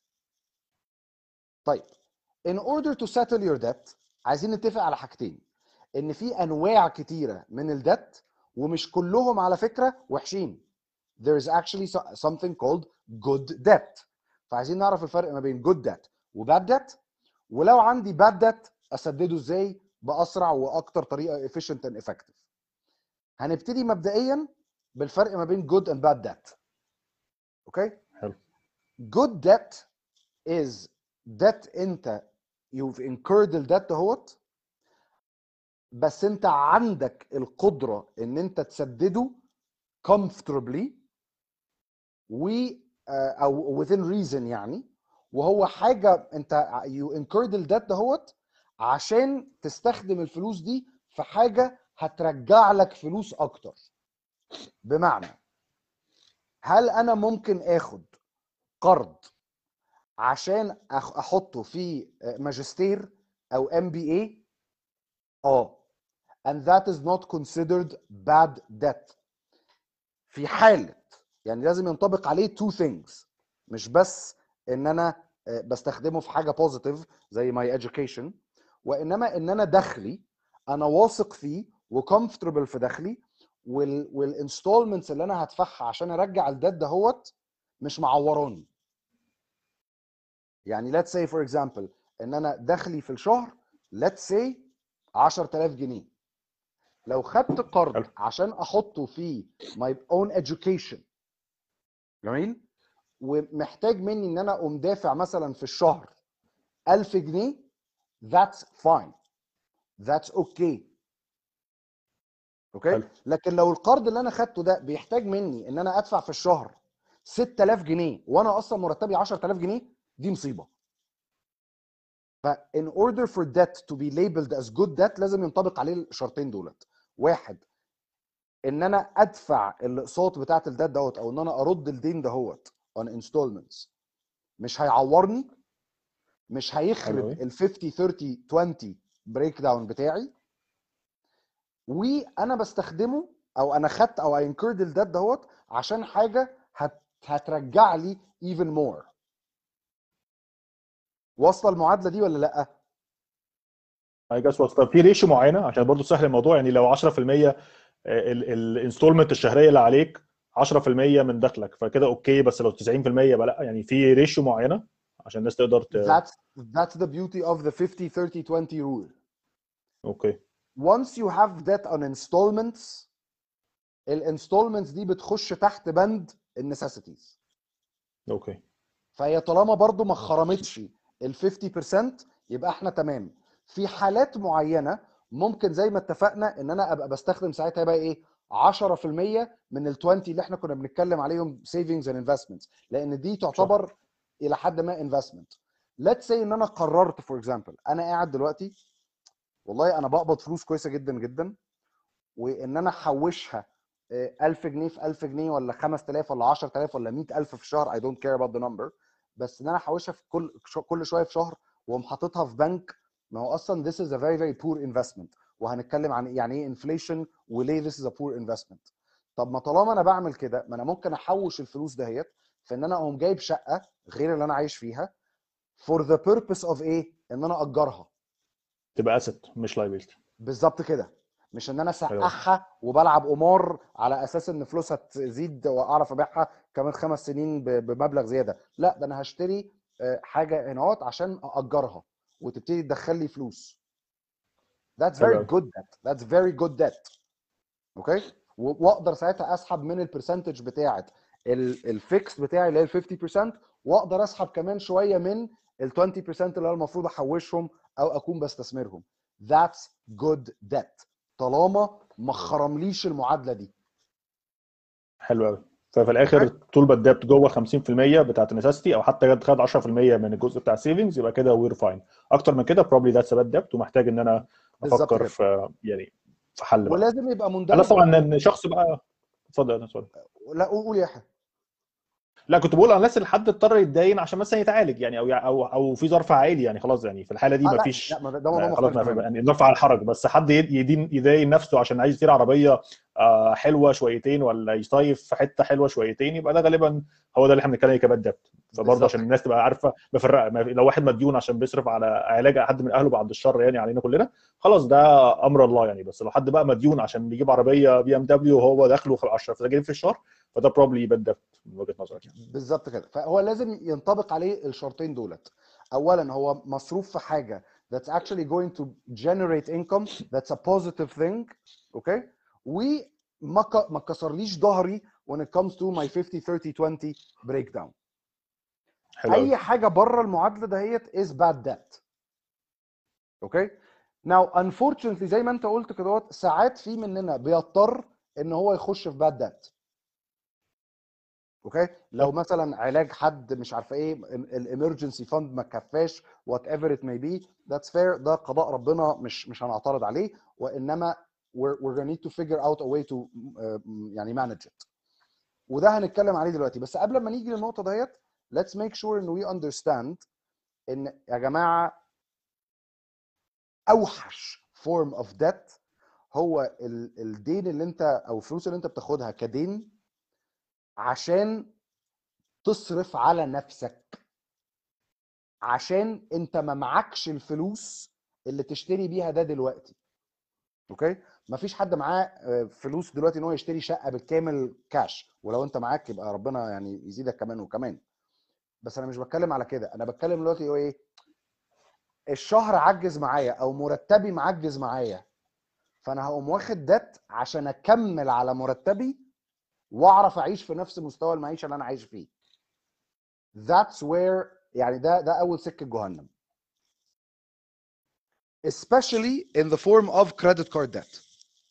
S2: طيب in order to settle your debt عايزين نتفق على حاجتين، ان في انواع كتيره من الدت ومش كلهم على فكره وحشين. there is actually something called good debt. فعايزين نعرف الفرق ما بين good debt و bad debt، ولو عندي bad debt اسدده ازاي باسرع واكتر طريقه efficient and effective. هنبتدي مبدئيا بالفرق ما بين good and bad debt. اوكي؟
S1: حلو.
S2: good debt is debt انت you've incurred الدت اهوت، بس انت عندك القدره ان انت تسدده comfortably و او within reason يعني، وهو حاجه انت you incurred الدت دهوت عشان تستخدم الفلوس دي في حاجه هترجع لك فلوس اكتر. بمعنى هل انا ممكن اخد قرض عشان أخ- احطه في ماجستير او ام بي اي؟ اه. and that is not considered bad debt في حالة، يعني لازم ينطبق عليه two things، مش بس ان انا آه، بستخدمه في حاجة positive زي my education، وانما ان انا دخلي انا واثق فيه وكمفتربل في دخلي، وال والانستولمنتس اللي انا هدفعها عشان ارجع الديت دهوت مش معوراني. يعني let's say for example ان انا دخلي في الشهر let's say عشرة آلاف جنيه، لو خدت قرض
S1: حلو.
S2: عشان احطه في my own education، جميل، ومحتاج مني ان انا اقوم دافع مثلا في الشهر ألف جنيه، that's fine، that's okay. اوكي.
S1: حلو.
S2: لكن لو القرض اللي انا خدته ده بيحتاج مني ان انا ادفع في الشهر ستة آلاف جنيه وانا اصلا مرتبي عشرة آلاف جنيه، دي مصيبه. ف in order for debt to be labeled as good debt لازم ينطبق عليه الشرطين دولت. واحد، ان انا ادفع الاقساط بتاعت الديت دوت او ان انا ارد الدين دهوت on installments مش هيعورني، مش
S1: حلو
S2: هيخرب
S1: قوي.
S2: ال خمسين ثلاثين عشرين بريك داون بتاعي، وانا بستخدمه او انا خدت او اي انكرد الديت دهوت عشان حاجه هت هترجع لي even more. واصله المعادله دي ولا لا؟
S1: اي جاس وات. طب في ريشيو معينه عشان برضو سهل الموضوع، يعني لو عشرة في المية الانستولمنت الشهريه اللي عليك عشرة في المية من دخلك فكده اوكي، بس لو تسعين في المية بقى لا، يعني في ريشيو معينه عشان الناس تقدر ت...
S2: That's that's the beauty of the fifty thirty twenty rule.
S1: اوكي.
S2: Once you have debt on installments، الانستولمنتس دي بتخش تحت بند النسيسيتيز.
S1: اوكي.
S2: فهي طالما برضو ما خرمتش ال خمسين بالمية يبقى احنا تمام. في حالات معينه ممكن زي ما اتفقنا ان انا ابقى بستخدم ساعتها بقى ايه عشرة في المية من ال عشرين اللي احنا كنا بنتكلم عليهم سيفنجز اند انفستمنتس، لان دي تعتبر
S1: صح.
S2: الى حد ما انفستمنت. ليتس سي ان انا قررت فور اكزامبل انا قاعد دلوقتي والله انا بقبض فلوس كويسه جدا جدا، وان انا احوشها آه، ألف جنيه في ألف جنيه ولا خمسة آلاف ولا عشرة آلاف ولا مية ألف في الشهر I don't care about the number، بس ان انا احوشها في كل كل شويه في شهر واقوم حاططها في بنك، ما هو اصلا this is a very very poor investment. وهنتكلم عن يعني ايه inflation وليه this is a poor investment. طب ما طالما انا بعمل كده ما انا ممكن احوش الفلوس دهيت في ان انا اقوم جايب شقه غير اللي انا عايش فيها for the purpose of ايه ان انا اجرها.
S1: تبقى اسيت مش لايبيلتي.
S2: بالظبط كده، مش ان انا
S1: حلو قوي.
S2: اسقعها وبلعب قمار على اساس ان فلوسها تزيد واعرف ابيعها كمان خمس سنين ب- بمبلغ زياده، لا ده انا هشتري آه، حاجه هنا عشان اجرها وتبتدي تدخل لي فلوس. That's
S1: حلو
S2: very
S1: قوي.
S2: good debt. That's very good debt. اوكي. و- واقدر ساعتها اسحب من البرسنتج بتاعه الفيكس بتاعي اللي هي ال خمسين بالمية، واقدر اسحب كمان شويه من ال عشرين بالمية اللي انا المفروض احوشهم او اكون بستثمرهم. That's good debt طالما ما خرمليش المعادله دي.
S1: حلو قوي. ففي الاخر
S2: اوكي.
S1: طول ما الديبت جوه خمسين في المية بتاعت النسيستي او حتى جد خد عشرة في المية من الجزء بتاع السيفنجز يبقى كده وير فاين. اكتر من كده بروبلي ذاتس باد ديبت ومحتاج ان انا
S2: بالظبط
S1: افكر
S2: كده.
S1: في يعني في حل بقى.
S2: ولازم يبقى
S1: انا
S2: مندرج.
S1: طبعا ان شخص بقى. اتفضل انا سوري.
S2: لا قول يا يحيى.
S1: لا كنت بقول على الناس اللي حد اضطر يتداين عشان مثلا يتعالج يعني او او او في ظرف عائلي يعني خلاص يعني في الحاله دي
S2: اه
S1: ما
S2: لا لا
S1: فيش
S2: ما ده ده موضوع
S1: ما خلاص
S2: مختلف
S1: ما في
S2: تماما.
S1: يعني ظرف على الحرج، بس حد يدين يداين نفسه عشان عايز يشتري عربيه آه، حلوه شويتين ولا يصيف في حته حلوه شويتين يبقى ده غالبا هو ده اللي احنا بنتكلم عليه كباد ديبت. فبرضه
S2: بالظبط
S1: عشان
S2: كده.
S1: الناس تبقى عارفه مفرقه ما في- لو واحد مديون عشان بيصرف على علاج حد من اهله بعد الشر يعني علينا كلنا خلاص ده امر الله يعني، بس لو حد بقى مديون عشان بيجيب عربيه بي ام دبليو وهو دخله عشرة آلاف في الشهر فده بروبلي باد ديبت من وجهه نظرك يعني.
S2: بالظبط كده. فهو لازم ينطبق عليه الشرطين دولت. اولا هو مصروف في حاجه that's actually going to generate income that's a positive thing. اوكي. وما ك- ما كسرليش ظهري when it comes to my fifty thirty twenty breakdown.
S1: حلو قوي.
S2: اي حاجه بره المعادله دهيت is bad debt. اوكي. now unfortunately زي ما انت قلت كده ساعات في مننا بيضطر ان هو يخش في bad debt. اوكي. لو مثلا علاج حد مش عارفه ايه الامرجنسي فاند ما كفاش وات ايفر ات ماي بي ذاتس فير، ده قضاء ربنا مش مش هنعترض عليه، وانما we're, we're gonna need to figure out a way to uh, يعني manage it. وده هنتكلم عليه دلوقتي. بس قبل ما نيجي للنقطه ديت let's make sure ان we understand ان يا جماعه اوحش form of debt هو الدين اللي انت او الفلوس اللي انت بتاخدها كدين عشان تصرف على نفسك، عشان انت ما معكش الفلوس اللي تشتري بيها ده دلوقتي. اوكي، مفيش حد معاه فلوس دلوقتي ان هو يشتري شقه بالكامل كاش، ولو انت معاك يبقى ربنا يعني يزيدك كمان وكمان، بس انا مش بتكلم على كده. انا بتكلم دلوقتي هو ايه، الشهر عجز معايا او مرتبي معجز معايا، فانا هقوم واخد ديت عشان اكمل على مرتبي واعرف اعيش في نفس مستوى المعيشه اللي انا عايش فيه. That's where يعني ده ده اول سكه جهنم. especially in the form of credit card debt.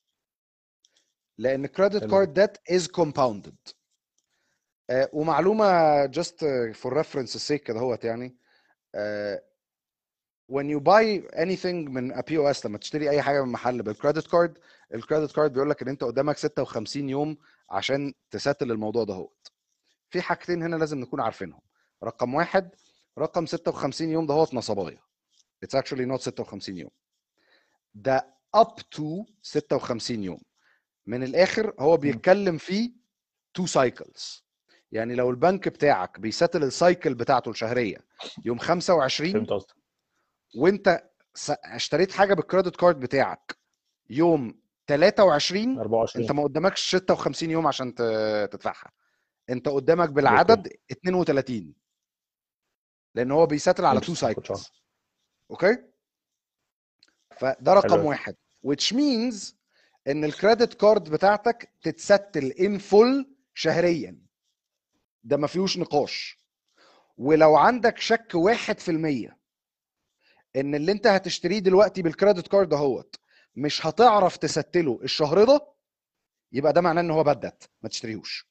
S2: لان credit card debt is compounded. uh, ومعلومه just for reference sake كده هوت يعني uh, when you buy anything من a بي او اس، لما تشتري اي حاجه من محل بالكريدت كارد، الكريدت كارد بيقول لك ان انت قدامك ستة وخمسين يوم عشان تساتل الموضوع ده هوت. في حاجتين هنا لازم نكون عارفينهم. رقم واحد، رقم ستة وخمسين يوم ده هوت نصبايه. It's actually not ستة وخمسين يوم، ده up to ستة وخمسين يوم. من الاخر هو بيتكلم فيه two cycles. يعني لو البنك بتاعك بيساتل السايكل بتاعته الشهريه يوم خمسة وعشرين،
S1: فهمت قصدك،
S2: وانت اشتريت حاجه بالكريدت كارد بتاعك يوم تلاتة وعشرين،
S1: أربعة وعشرين
S2: انت ما قدامكش ستة وخمسين يوم عشان تدفعها، انت قدامك بالعدد اتنين وتلاتين، لان هو بيساتل على تو سايكلز. اوكي، فده رقم واحد، which means ان الكريدت كارد بتاعتك تتستل ان فول شهريا، ده ما فيهوش نقاش. ولو عندك شك واحد في المية ان اللي انت هتشتريه دلوقتي بالكريدت كارد اهوت مش هتعرف تستله الشهر ده، يبقى ده معناه ان هو بدت، ما تشتريهوش.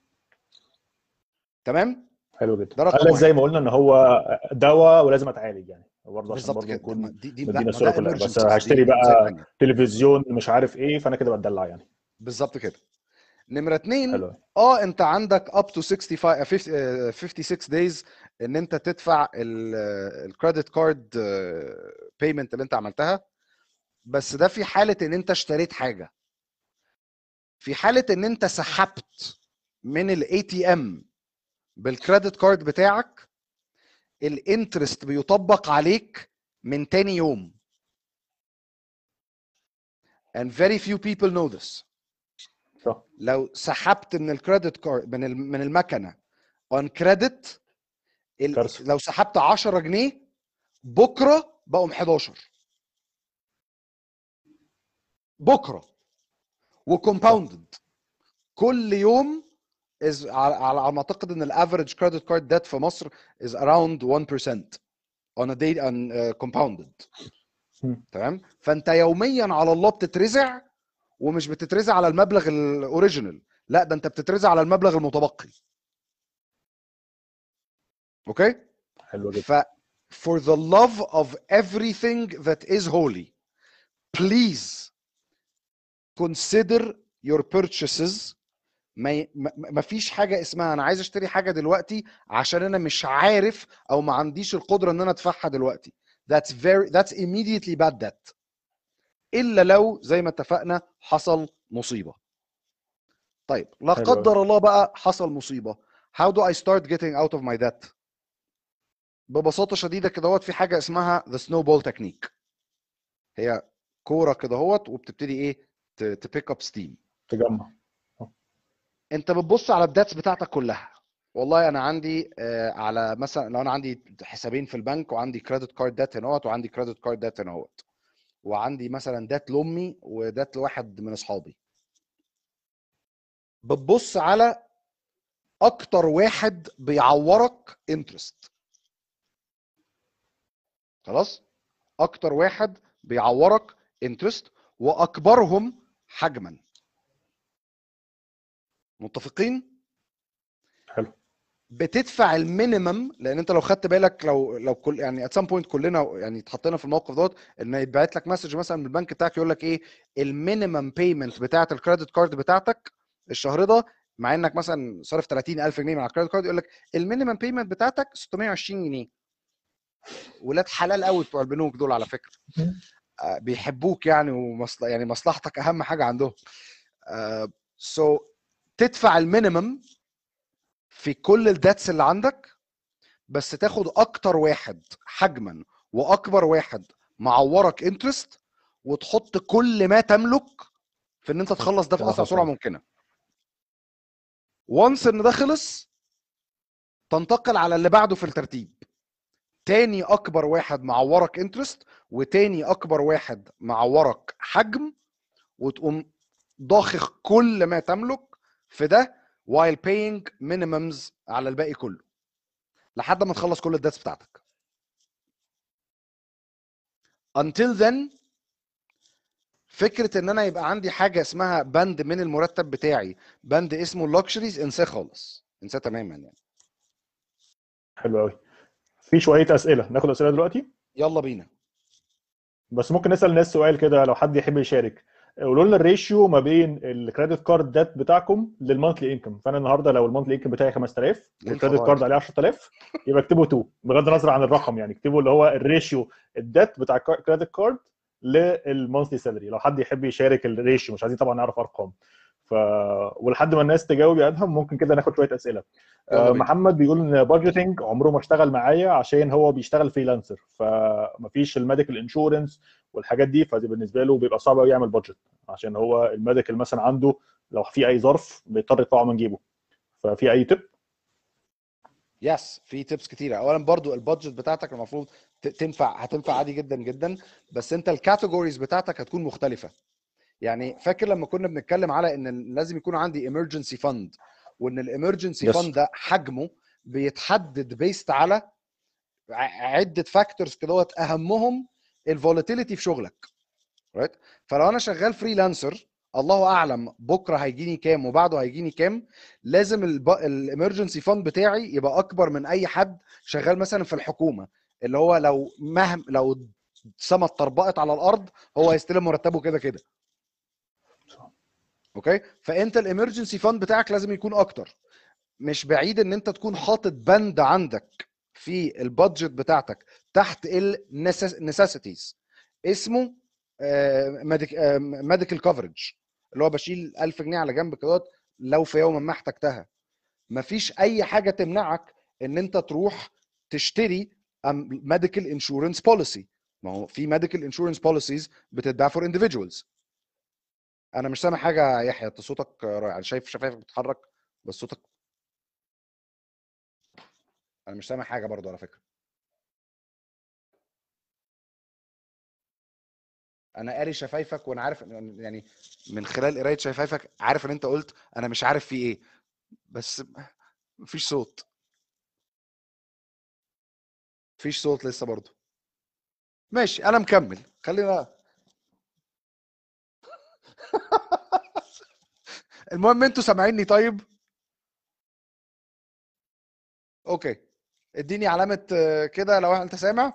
S2: تمام،
S1: حلو جدا.
S2: ده رقم
S1: قال
S2: واحد.
S1: زي ما قلنا ان هو دواء ولازم اتعالج يعني، برضه عشان
S2: بالظبط
S1: برضه
S2: كده،
S1: نكون
S2: دي دي
S1: مدينا
S2: ما
S1: الصوره
S2: ده
S1: كلها. بس
S2: emergencies،
S1: هشتري
S2: دي دي مصايب
S1: بقى
S2: ثانيه.
S1: تلفزيون مش عارف ايه، فانا كده بتدلع يعني.
S2: بالظبط كده. نمره اتنين،
S1: حلو.
S2: اه انت عندك up to خمسة وخمسين فيفتي سيكس days ان انت تدفع الكريدت كارد بيمنت اللي انت عملتها، بس ده في حاله ان انت اشتريت حاجه. في حاله ان انت سحبت من الاي تي ام بالكريدت كارد بتاعك، الانترست بيطبق عليك من تاني يوم. and very few people know this.
S1: صح.
S2: لو سحبت من الكريدت كارد من من المكنه on credit، لو سحبت عشرة جنيه بكره بقوا حداشر بكره، وكومباوندد كل يوم. is على ما اعتقد ان الافريج كريدت كارد ديت في مصر is around one percent on a day on uh, compounded. تمام، فانت يوميا على الله بتترزع، ومش بتترزع على المبلغ الاوريجينال، لا ده انت بتترزع على المبلغ المتبقي. اوكي،
S1: حلو جدا.
S2: ف for the love of everything that is holy, please consider your purchases. ما ما فيش حاجه اسمها انا عايز اشتري حاجه دلوقتي عشان انا مش عارف او ما عنديش القدره ان انا ادفعها دلوقتي. that's very that's immediately bad debt، الا لو زي ما اتفقنا حصل مصيبه. طيب لا قدر الله بقى حصل مصيبه، how do I start getting out of my debt؟ ببساطه شديده كده هوت في حاجه اسمها the snowball technique. هي كوره كده هوت وبتبتدي ايه تبيك اب ستيم،
S1: تجمع.
S2: انت بتبص على الداتس بتاعتك كلها. والله انا عندي آه على مثلا لو انا عندي حسابين في البنك، وعندي كريدت كارد دات هنا وعندي كريدت كارد دات هنا، وعندي مثلا دات لامي ودات لواحد من اصحابي. بتبص على اكتر واحد بيعورك انترست، خلاص، اكتر واحد بيعورك انترست واكبرهم حجما. متفقين؟
S1: حلو.
S2: بتدفع المينيمم، لان انت لو خدت بالك لو لو كل يعني ات سام بوينت كلنا يعني اتحطينا في الموقف دوت، ان يتبعت لك مسج مثلا من البنك بتاعك يقول لك ايه المينيمم بيمنت بتاعه الكريدت كارد بتاعتك الشهر ده مع انك مثلا صارف ثلاثين ألف جنيه من على الكريدت كارد، يقول لك المينيمم بيمنت بتاعتك ستمية وعشرين جنيه. ولاد حلال قوي بتوع البنوك دول على فكره، آه، بيحبوك يعني، ومصل... يعني مصلحتك اهم حاجه عندهم. سو uh, so, تدفع المينيمم في كل الداتس اللي عندك، بس تاخد اكتر واحد حجما واكبر واحد معورك انترست، وتحط كل ما تملك في ان انت تخلص ده في اسرع سرعه ممكنه. وانس ان ده خلص، تنتقل على اللي بعده في الترتيب. تاني اكبر واحد معورك انترست، وتاني اكبر واحد معورك حجم، وتقوم ضاخخ كل ما تملك في ده while paying minimums على الباقي كله لحد ما تخلص كل الداتس بتاعتك. until then فكره ان انا يبقى عندي حاجه اسمها بند من المرتب بتاعي، بند اسمه اللوكشريز، انساه خالص، انساه تماما يعني.
S1: حلو قوي. في شويه اسئله، ناخد اسئله دلوقتي.
S2: يلا بينا.
S1: بس ممكن نسال الناس سؤال كده لو حد يحب يشارك. قولوا لنا الريشيو ما بين الكريدت كارد دات بتاعكم للمونثلي انكم. فانا النهارده لو المونثلي انكم بتاعي خمسة آلاف والكريدت كارد عليه عشرة آلاف، يبقى اكتبوا اتنين بغض النظر عن الرقم، يعني اكتبوا اللي هو الريشيو الدات بتاع الكريدت كارد للمونثلي سالري. لو حد يحب يشارك الريشيو، مش عايزين طبعا نعرف ارقام. ف ولحد ما الناس تجاوب يا ادهم ممكن كده ناخد شويه اسئله.
S2: يلا بينا.
S1: محمد بيقول ان بادجيتنج عمره ما اشتغل معايا عشان هو بيشتغل فريلانسر، فمفيش الميديكال انشورنس والحاجات دي، فدي بالنسبه له بيبقى صعب قوي يعمل بادجت، عشان هو الميديكال مثلا عنده لو في اي ظرف بيضطر يطلعه من جيبه. ففي اي تip؟
S2: يس، في تيبس كتيره. اولا برضو البادجت بتاعتك المفروض تنفع، هتنفع عادي جدا جدا، بس انت الكاتيجوريز بتاعتك هتكون مختلفه. يعني فاكر لما كنا بنتكلم على ان لازم يكون عندي emergency fund، وان الامرجنسي فند ده حجمه بيتحدد بيست على عده فاكتورز كده، اهمهم الفولاتيليتي في شغلك، رايت؟ فلو انا شغال فريلانسر الله اعلم بكره هيجيني كام وبعده هيجيني كام، لازم الامرجنسي فند بتاعي يبقى اكبر من اي حد شغال مثلا في الحكومه، اللي هو لو مهما لو السما اتطربقت على الارض هو هيستلم مرتبه كده كده. اوكي، فانت الامرجنسي فند بتاعك لازم يكون اكتر. مش بعيد ان انت تكون حاطط بند عندك في البادجت بتاعتك تحت النسيسيتيز اسمه ميديكال كفرج، اللي هو بشيل ألف جنيه على جنب كده لو في يوم ما احتجتها. مفيش اي حاجه تمنعك ان انت تروح تشتري ميديكال انشورنس بوليسي. ما هو في ميديكال انشورنس بوليسيز بتتباع فور individuals. انا مش سامع حاجه يا يحيى، صوتك رائع، شايف شفايفك بتتحرك بس صوتك، انا مش سامع حاجه برضو على فكره. انا قاري شفايفك وانا عارف يعني من خلال قرايه شفايفك عارف ان انت قلت انا مش عارف في ايه، بس مفيش صوت، مفيش صوت لسه برضو. ماشي انا مكمل، خلينا المهم انتوا سامعيني طيب؟ اوكي، اديني علامه كده لو انت سامع.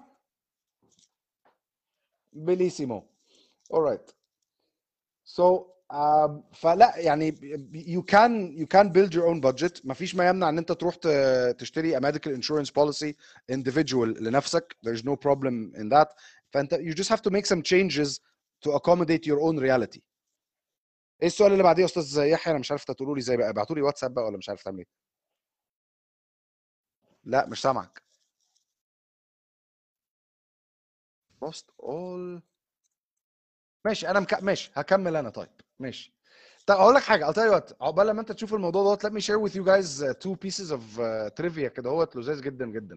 S2: بليسيمو. alright. so um, فلا يعني you can you can build your own budget. مفيش ما يمنع ان انت تروح تشتري a medical insurance policy individual لنفسك. there's no problem in that. فانت you just have to make some changes to accommodate your own reality. ايه السؤال اللي بعديه يا استاذ يحيى؟ انا مش عارف تقولوا لي ازاي بقى، ابعتوا لي واتساب بقى ولا مش عارف تعمل ايه؟ لا مش سامعك. lost all. ماشي انا مك... ماشي هكمل انا طيب. ماشي طب اقول لك حاجه، I'll tell you what، عقبال لما انت تشوف الموضوع دوت let me share with you guys uh, two pieces of uh, trivia كده اهوت لذيذ جدا جدا.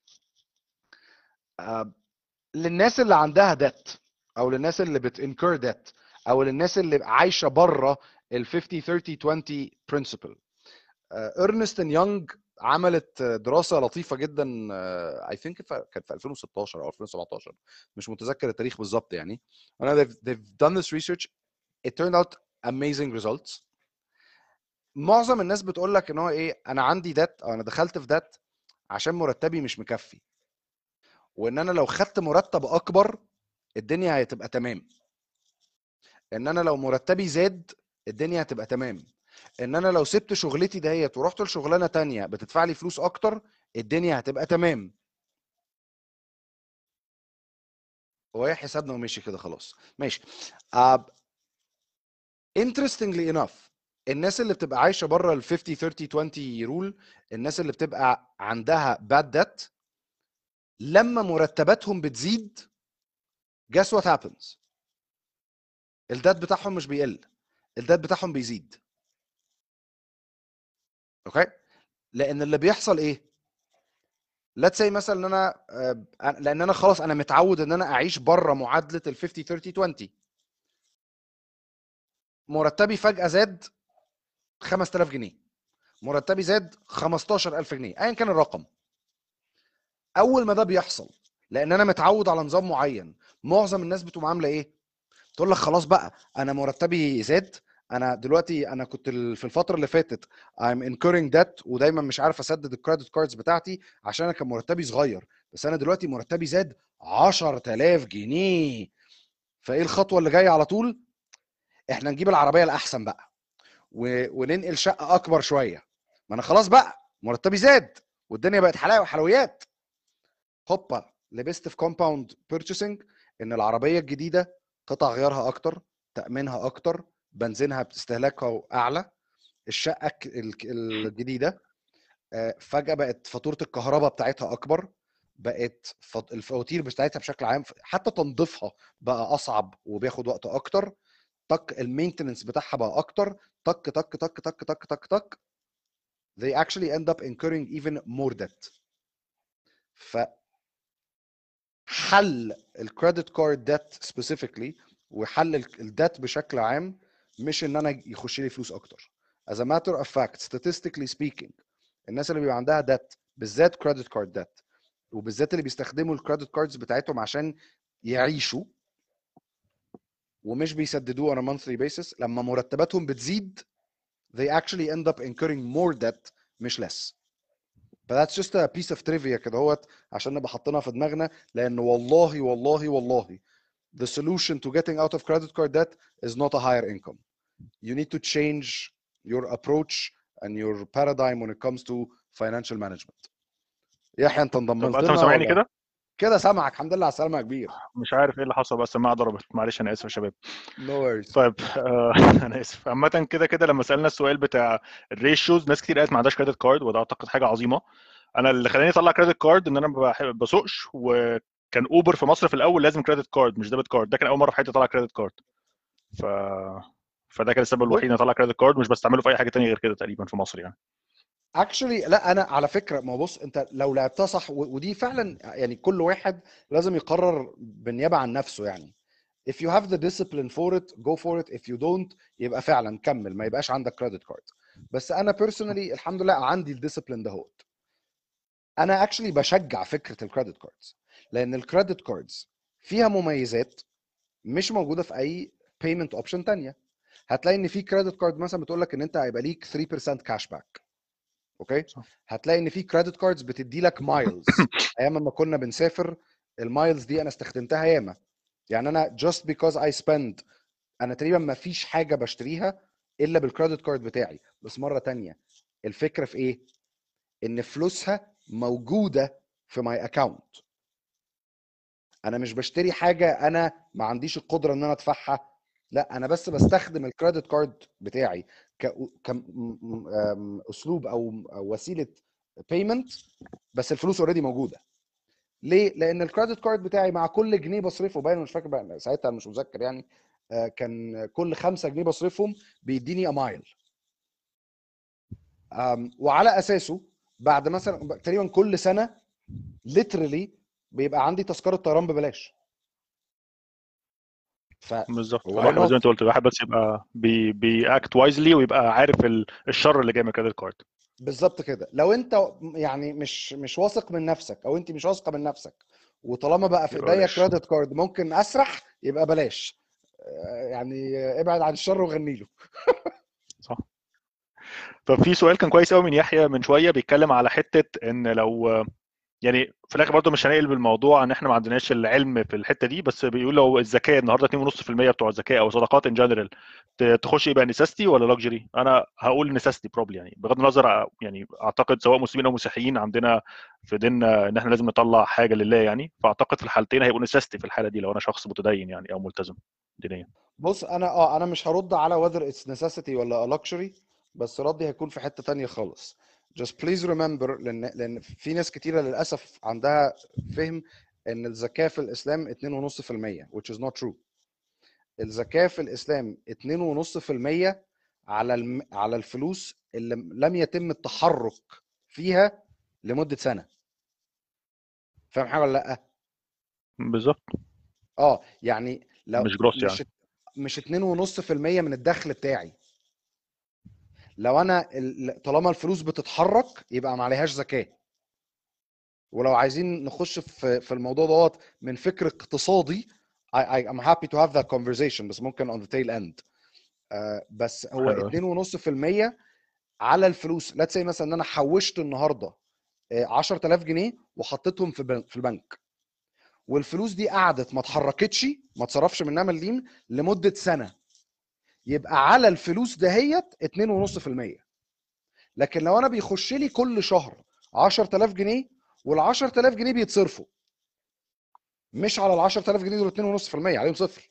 S2: uh, للناس اللي عندها debt، او للناس اللي بتنكر debt، او للناس اللي عايشه بره ال fifty thirty twenty principle. ارنست اند يونج عملت دراسه لطيفه جدا، اي ثينك كانت في ألفين وستاشر او ألفين وسبعتاشر، مش متذكر التاريخ بالظبط يعني. انا they've, they've done this research. it turned out amazing results. معظم الناس بتقول لك ان هو ايه، انا عندي دات او انا دخلت في دات عشان مرتبي مش مكفي، وان انا لو خدت مرتب اكبر الدنيا هتبقى تمام، ان انا لو مرتبي زاد الدنيا هتبقى تمام. ان انا لو سبت شغلتي دهيت ورحت لشغلانه تانية بتدفع لي فلوس اكتر، الدنيا هتبقى تمام. هو ايه حسابنا ومشي كده خلاص ماشي. uh, interestingly enough الناس اللي بتبقى عايشه بره ال خمسين ثلاثين عشرين رول، الناس اللي بتبقى عندها bad debt لما مرتباتهم بتزيد guess what happens؟ الدات بتاعهم مش بيقل، الدات بتاعهم بيزيد. اوكي، لان اللي بيحصل ايه؟ let's say مثلا ان انا لان انا خلاص انا متعود ان انا اعيش بره معادله ال خمسين ثلاثين عشرين، مرتبي فجاه زاد خمسة آلاف جنيه، مرتبي زاد خمستاشر ألف جنيه، ايا كان الرقم. اول ما ده بيحصل لان انا متعود على نظام معين، معظم الناس بتقوم عامله ايه؟ تقول لك خلاص بقى انا مرتبي زاد، انا دلوقتي انا كنت في الفتره اللي فاتت I'm incurring debt ودايما مش عارف اسدد الكريدت كاردز بتاعتي عشان انا كان مرتبي صغير، بس انا دلوقتي مرتبي زاد عشرة آلاف جنيه. فايه الخطوه اللي جايه على طول؟ احنا نجيب العربيه الاحسن بقى و... وننقل شقه اكبر شويه، ما انا خلاص بقى مرتبي زاد والدنيا بقت حلاوه وحلويات. هوبا لبست في كومباوند بيرتشيسنج ان العربيه الجديده قطع غيارها اكتر، تامينها اكتر، بنزينها باستهلاكها اعلى، الشقه الجديده فجاه بقت فاتوره الكهرباء بتاعتها اكبر، بقت الفواتير بتاعتها بشكل عام حتى تنظيفها بقى اصعب وبياخد وقت اكتر، تك المينتننس بتاعها بقى اكتر، تك تك تك تك تك تك تك they actually end up incurring even more debt. ف حل الكريدت كارد ديت سبيسيفيكلي وحل الديت بشكل عام مش ان انا يخش لي فلوس اكتر. as a matter of fact statistically speaking الناس اللي بيبقى عندها ديت بالذات كريدت كارد ديت وبالذات اللي بيستخدموا الكريدت كاردز بتاعتهم عشان يعيشوا ومش بيسددوه on a monthly basis، لما مرتباتهم بتزيد they actually end up incurring more debt مش less. But that's just a piece of trivia كده هوت عشان نبقى حاطينها في دماغنا، لان والله والله والله the solution to getting out of credit card debt is not a higher income. You need to change your approach and your paradigm when it comes to financial management. يحيى انت
S1: طب
S2: انضملت
S1: ادهم
S2: لنا
S1: سامعني
S2: ولا
S1: كده؟
S2: كده؟ سامعك الحمد لله على السلامه يا كبير.
S1: مش عارف ايه اللي حصل بس السماعه ضربت، معلش انا اسف يا شباب.
S2: No worries.
S1: طيب آه انا اسف. عامه كده كده لما سالنا السؤال بتاع الريشيوز ناس كتير قالت ما عندهاش كريدت كارد، وده اعتقد حاجه عظيمه. انا اللي خلاني اطلع كريدت كارد ان انا ما بسوقش، وكان اوبر في مصر في الاول لازم كريدت كارد مش ديبت كارد، ده كان اول مره في حياتي اطلع كريدت كارد. ف فده كان السبب الوحيد ان اطلع كريدت كارد، مش بستعمله في اي حاجه ثانيه غير كده تقريبا في مصر يعني.
S2: اكشلي لا انا على فكره، ما بص انت لو لعبتها صح ودي فعلا يعني كل واحد لازم يقرر بالنيابه عن نفسه يعني. if you have the discipline for it go for it, if you don't يبقى فعلا كمل ما يبقاش عندك كريدت كارد. بس انا بيرسونالي الحمد لله عندي الديسيبلين دهوت. انا اكشلي بشجع فكره الكريدت كاردز لان الكريدت كاردز فيها مميزات مش موجوده في اي بيمنت اوبشن تانية. هتلاقي ان في كريدت كارد مثلا بتقول لك ان انت هيبقى ليك ثلاثة بالمية كاش باك. اوكي، هتلاقي ان في كريدت كاردز بتدي لك مايلز. ايام ما كنا بنسافر المايلز دي انا استخدمتها ياما، يعني انا just because I spend انا تقريبا ما فيش حاجه بشتريها الا بالكريدت كارد بتاعي. بس مره تانية الفكره في ايه؟ ان فلوسها موجوده في ماي اكاونت. انا مش بشتري حاجه انا ما عنديش القدره ان انا ادفعها، لا انا بس بستخدم الكريدت كارد بتاعي كاسلوب او وسيله بيمنت، بس الفلوس اوريدي موجوده. ليه؟ لان الكريدت كارد بتاعي مع كل جنيه بصرفه، باين مش فاكر بقى ساعتها مش متذكر يعني، كان كل خمسة جنيه بصرفهم بيديني امايل، وعلى اساسه بعد مثلا تقريبا كل سنه ليترلي بيبقى عندي تذكره طيران ببلاش. ف
S1: بالظبط.
S2: واي
S1: الواحد زي ما
S2: نوت؟
S1: انت قلت الواحد بس يبقى بي بياكت وايزلي ويبقى عارف ال- الشر اللي جاي من كريدت كارد.
S2: بالظبط كده. لو انت يعني مش مش واثق من نفسك او انت مش واثقه من نفسك وطالما بقى في
S1: يبقى
S2: ايديا
S1: بلاش.
S2: كريدت كارد ممكن اسرح، يبقى بلاش يعني، ابعد عن الشر وغني له.
S1: صح. طب في سؤال كان كويس قوي من يحيى من شويه بيتكلم على حته ان لو يعني في الاخر برضه مش هنقلب الموضوع ان احنا ما عندناش العلم في الحته دي، بس بيقول لو الزكاه النهارده اتنين ونص في المية بتوع الزكاه او صدقات ان جنرال تخش يبقى نيساستي ولا لاكجري؟ انا هقول نيساستي بروبلي، يعني بغض النظر ع- يعني اعتقد سواء مسلمين او مسيحيين عندنا في ديننا ان احنا لازم نطلع حاجه لله يعني، فاعتقد في الحالتين هيبقوا نيساستي في الحاله دي لو انا شخص متدين يعني او ملتزم دينيا.
S2: بص انا اه انا مش هرد على whether it's necessity ولا luxury، بس ردي هيكون في حتة تانية خالص. just please remember، لان لان في ناس كتيرة للاسف عندها فهم ان الزكاة في الاسلام اتنين ونص في المية which is not true. الزكاة في الاسلام اتنين ونص في المية على الم... على الفلوس اللي لم يتم التحرك فيها لمدة سنة. فاهم حاجة ولا لا؟
S1: بالظبط.
S2: اه يعني لو
S1: مش جروس يعني.
S2: مش مش اتنين ونص في المية من الدخل بتاعي، لو انا ال- طالما الفلوس بتتحرك يبقى ما عليهاش زكاة. ولو عايزين نخش في في الموضوع دوت من فكر اقتصادي، I, I, I'm happy to have that conversation، بس ممكن on the tail end. آه بس هو
S1: حلو قوي.
S2: اتنين ونص في المية على الفلوس. let's say مثلا ان انا حوشت النهارده آه، عشرة آلاف جنيه وحطيتهم في بن- في البنك، والفلوس دي قعدت ما اتحركتش، ما اتصرفش منها مليم لمدة سنة، يبقى على الفلوس دهيت اتنين ونص في المية. لكن لو انا بيخش لي كل شهر عشرة آلاف جنيه، وال عشرة آلاف جنيه بيتصرفوا، مش على ال عشرة آلاف جنيه دول اتنين ونص في المية عليهم صفر.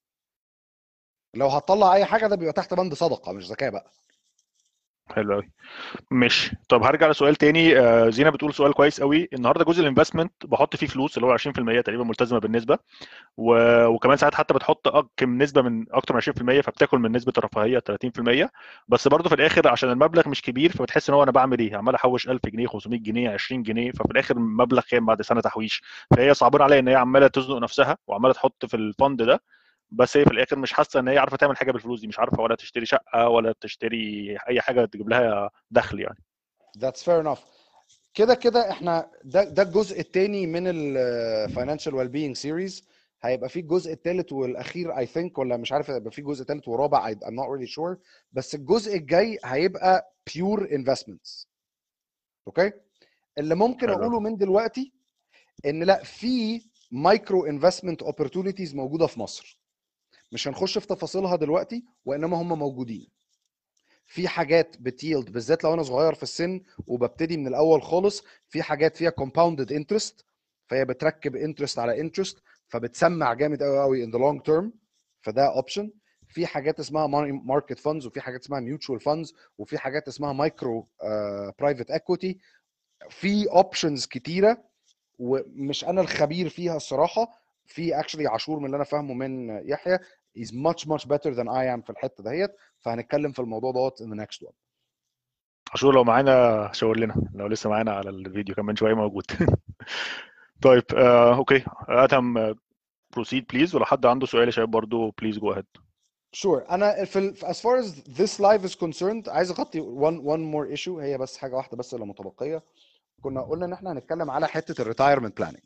S2: لو هتطلع اي حاجه ده بيبقى تحت بند صدقه مش زكاه بقى.
S1: حلو قوي. ماشي. طب هرجع لسؤال تاني. آه، زينه بتقول سؤال كويس قوي. النهارده جزء الانفستمنت بحط فيه فلوس اللي هو عشرين في المية تقريبا ملتزمه بالنسبه، و... وكمان ساعات حتى بتحط أك- كم نسبه من اكتر من عشرين في المية، فبتاكل من نسبه الرفاهيه ثلاثين في المية. بس برضه في الاخر عشان المبلغ مش كبير فبتحس ان هو انا بعمل ايه، عمال احوش ألف جنيه خمسمية جنيه عشرين جنيه، ففي الاخر مبلغ كام بعد سنه تحويش؟ فهي صعبان عليها ان هي عماله تزنق نفسها وعماله تحط في الفند ده، بس هي في الاخر مش حاسه ان هي عارفه تعمل حاجه بالفلوس دي، مش عارفه ولا تشتري شقه ولا تشتري اي حاجه تجيب لها دخل يعني.
S2: That's fair enough. كده كده احنا ده ده الجزء الثاني من ال financial well-being series. هيبقى في الجزء الثالث والاخير I think، ولا مش عارف هيبقى في جزء ثالث ورابع I, I'm not really sure. بس الجزء الجاي هيبقى pure investments. اوكي. اللي ممكن
S1: حلو.
S2: اقوله من دلوقتي ان لا، في مايكرو انفستمنت opportunities موجوده في مصر. مش هنخش في تفاصيلها دلوقتي، وانما هم موجودين. في حاجات بتيلد بالذات لو انا صغير في السن وببتدي من الاول خالص، في حاجات فيها compounded interest، فهي بتركب انترست على انترست، فبتسمع جامد قوي قوي in the long term، فده اوبشن. في حاجات اسمها ماركت فاندز، وفي حاجات اسمها ميوتشوال فاندز، وفي حاجات اسمها مايكرو برايفت اكويتي. في اوبشنز كتيره، ومش انا الخبير فيها الصراحه. في اكشلي عاشور من اللي انا فاهمه من يحيى is much much better than I am في الحته دهيت، فهنتكلم في الموضوع دوت in the next one.
S1: عاشور لو معانا شاور لنا، لو لسه معانا على الفيديو كمان شويه موجود. طيب آه، اوكي ادهم بروسيد بليز، ولو حد عنده سؤال يا شباب برضه بليز جو اهيد.
S2: sure. انا في ال- as far as this live is concerned عايز اغطي one one more issue، هي بس حاجه واحده بس اللي متبقيه. كنا قلنا ان احنا هنتكلم على حته الريتايرمنت بلاننج.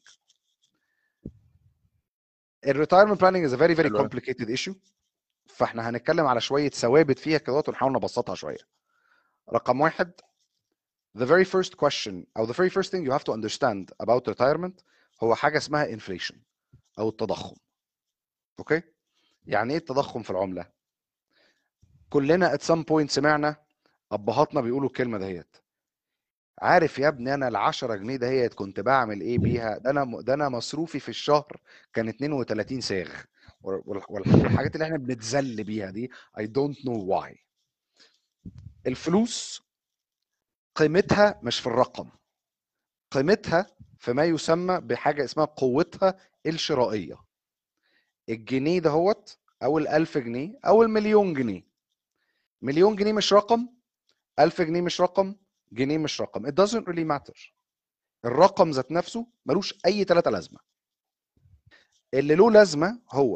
S2: الريتايرمنت بلاننج is a very very
S1: حلو قوي.
S2: complicated issue، فاحنا هنتكلم على شويه ثوابت فيها كده ونحاول نبسطها شويه. رقم واحد، the very first question او the very first thing you have to understand about retirement هو حاجه اسمها inflation او التضخم. اوكي. يعني ايه التضخم في العمله؟ كلنا at some point سمعنا ابهاتنا بيقولوا الكلمه دهيت: عارف يا ابني انا ال عشرة جنيه دهيت كنت بعمل ايه بيها؟ ده انا ده انا مصروفي في الشهر كان اتنين وتلاتين ساغ. وال- وال- والحاجات اللي احنا بنتذل بيها دي I don't know why. الفلوس قيمتها مش في الرقم، قيمتها في ما يسمى بحاجه اسمها قوتها الشرائيه. الجنيه دهوت او الألف جنيه او المليون جنيه. مليون جنيه مش رقم، ألف جنيه مش رقم، جنيه مش رقم. it doesn't really matter. الرقم ذات نفسه ملوش اي ثلاثه لازمه. اللي له لازمه هو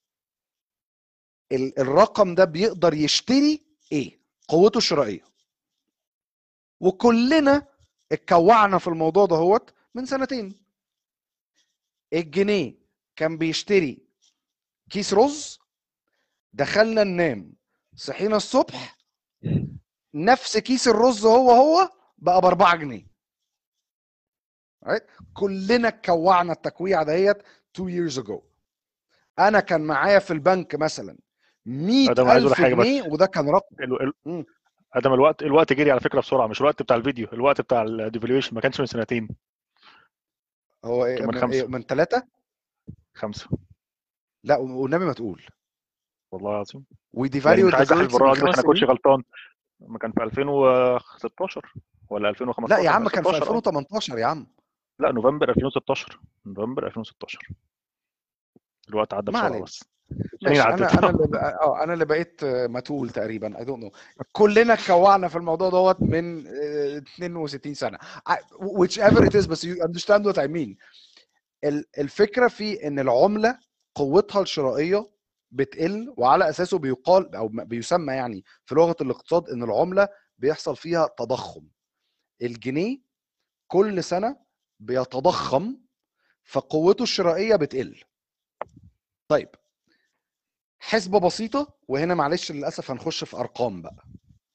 S2: ال- الرقم ده بيقدر يشتري ايه، قوته الشرائيه. وكلنا اتكوعنا في الموضوع ده هوت من سنتين. الجنيه كان بيشتري كيس رز، دخلنا ننام صحينا الصبح نفس كيس الرز هو هو بقى باربعة جنيه. right. كلنا كوعنا التكويعه ديت two years ago. انا كان معايا في البنك مثلا مية ألف جنيه وده كان رقم.
S1: ال... ال... ادم الوقت الوقت جري على فكره بسرعه، مش الوقت بتاع الفيديو، الوقت بتاع الديفالويشن ما كانش من سنتين.
S2: هو ايه؟
S1: من
S2: خمسة من ثلاثة
S1: خمسة.
S2: لا والنبي ما تقول
S1: والله العظيم.
S2: وديفاليو
S1: يعني مش عايز احلف
S2: الكرنسي
S1: بالراحه
S2: من
S1: دي عشان
S2: خمس
S1: اكونش
S2: سنين.
S1: غلطان. ما كان في ألفين وستاشر ولا ألفين وخمستاشر؟
S2: لا يا عم كان في
S1: ستاشر.
S2: ألفين وتمنتاشر يا عم.
S1: لا نوفمبر ألفين وستاشر. نوفمبر ألفين وستاشر. الوقت عدى بسرعه بس.
S2: ماشي. انا انا اللي اه انا اللي بقيت متول تقريبا. اي دونت نو. كلنا اتكوعنا في الموضوع دوت من اتنين وستين سنه which ever it is. بس you understand what I mean. الفكره في ان العمله قوتها الشرائيه بتقل، وعلى اساسه بيقال او بيسمى يعني في لغه الاقتصاد ان العمله بيحصل فيها تضخم. الجنيه كل سنه بيتضخم فقوته الشرائيه بتقل. طيب حسبه بسيطه، وهنا معلش للاسف هنخش في ارقام بقى.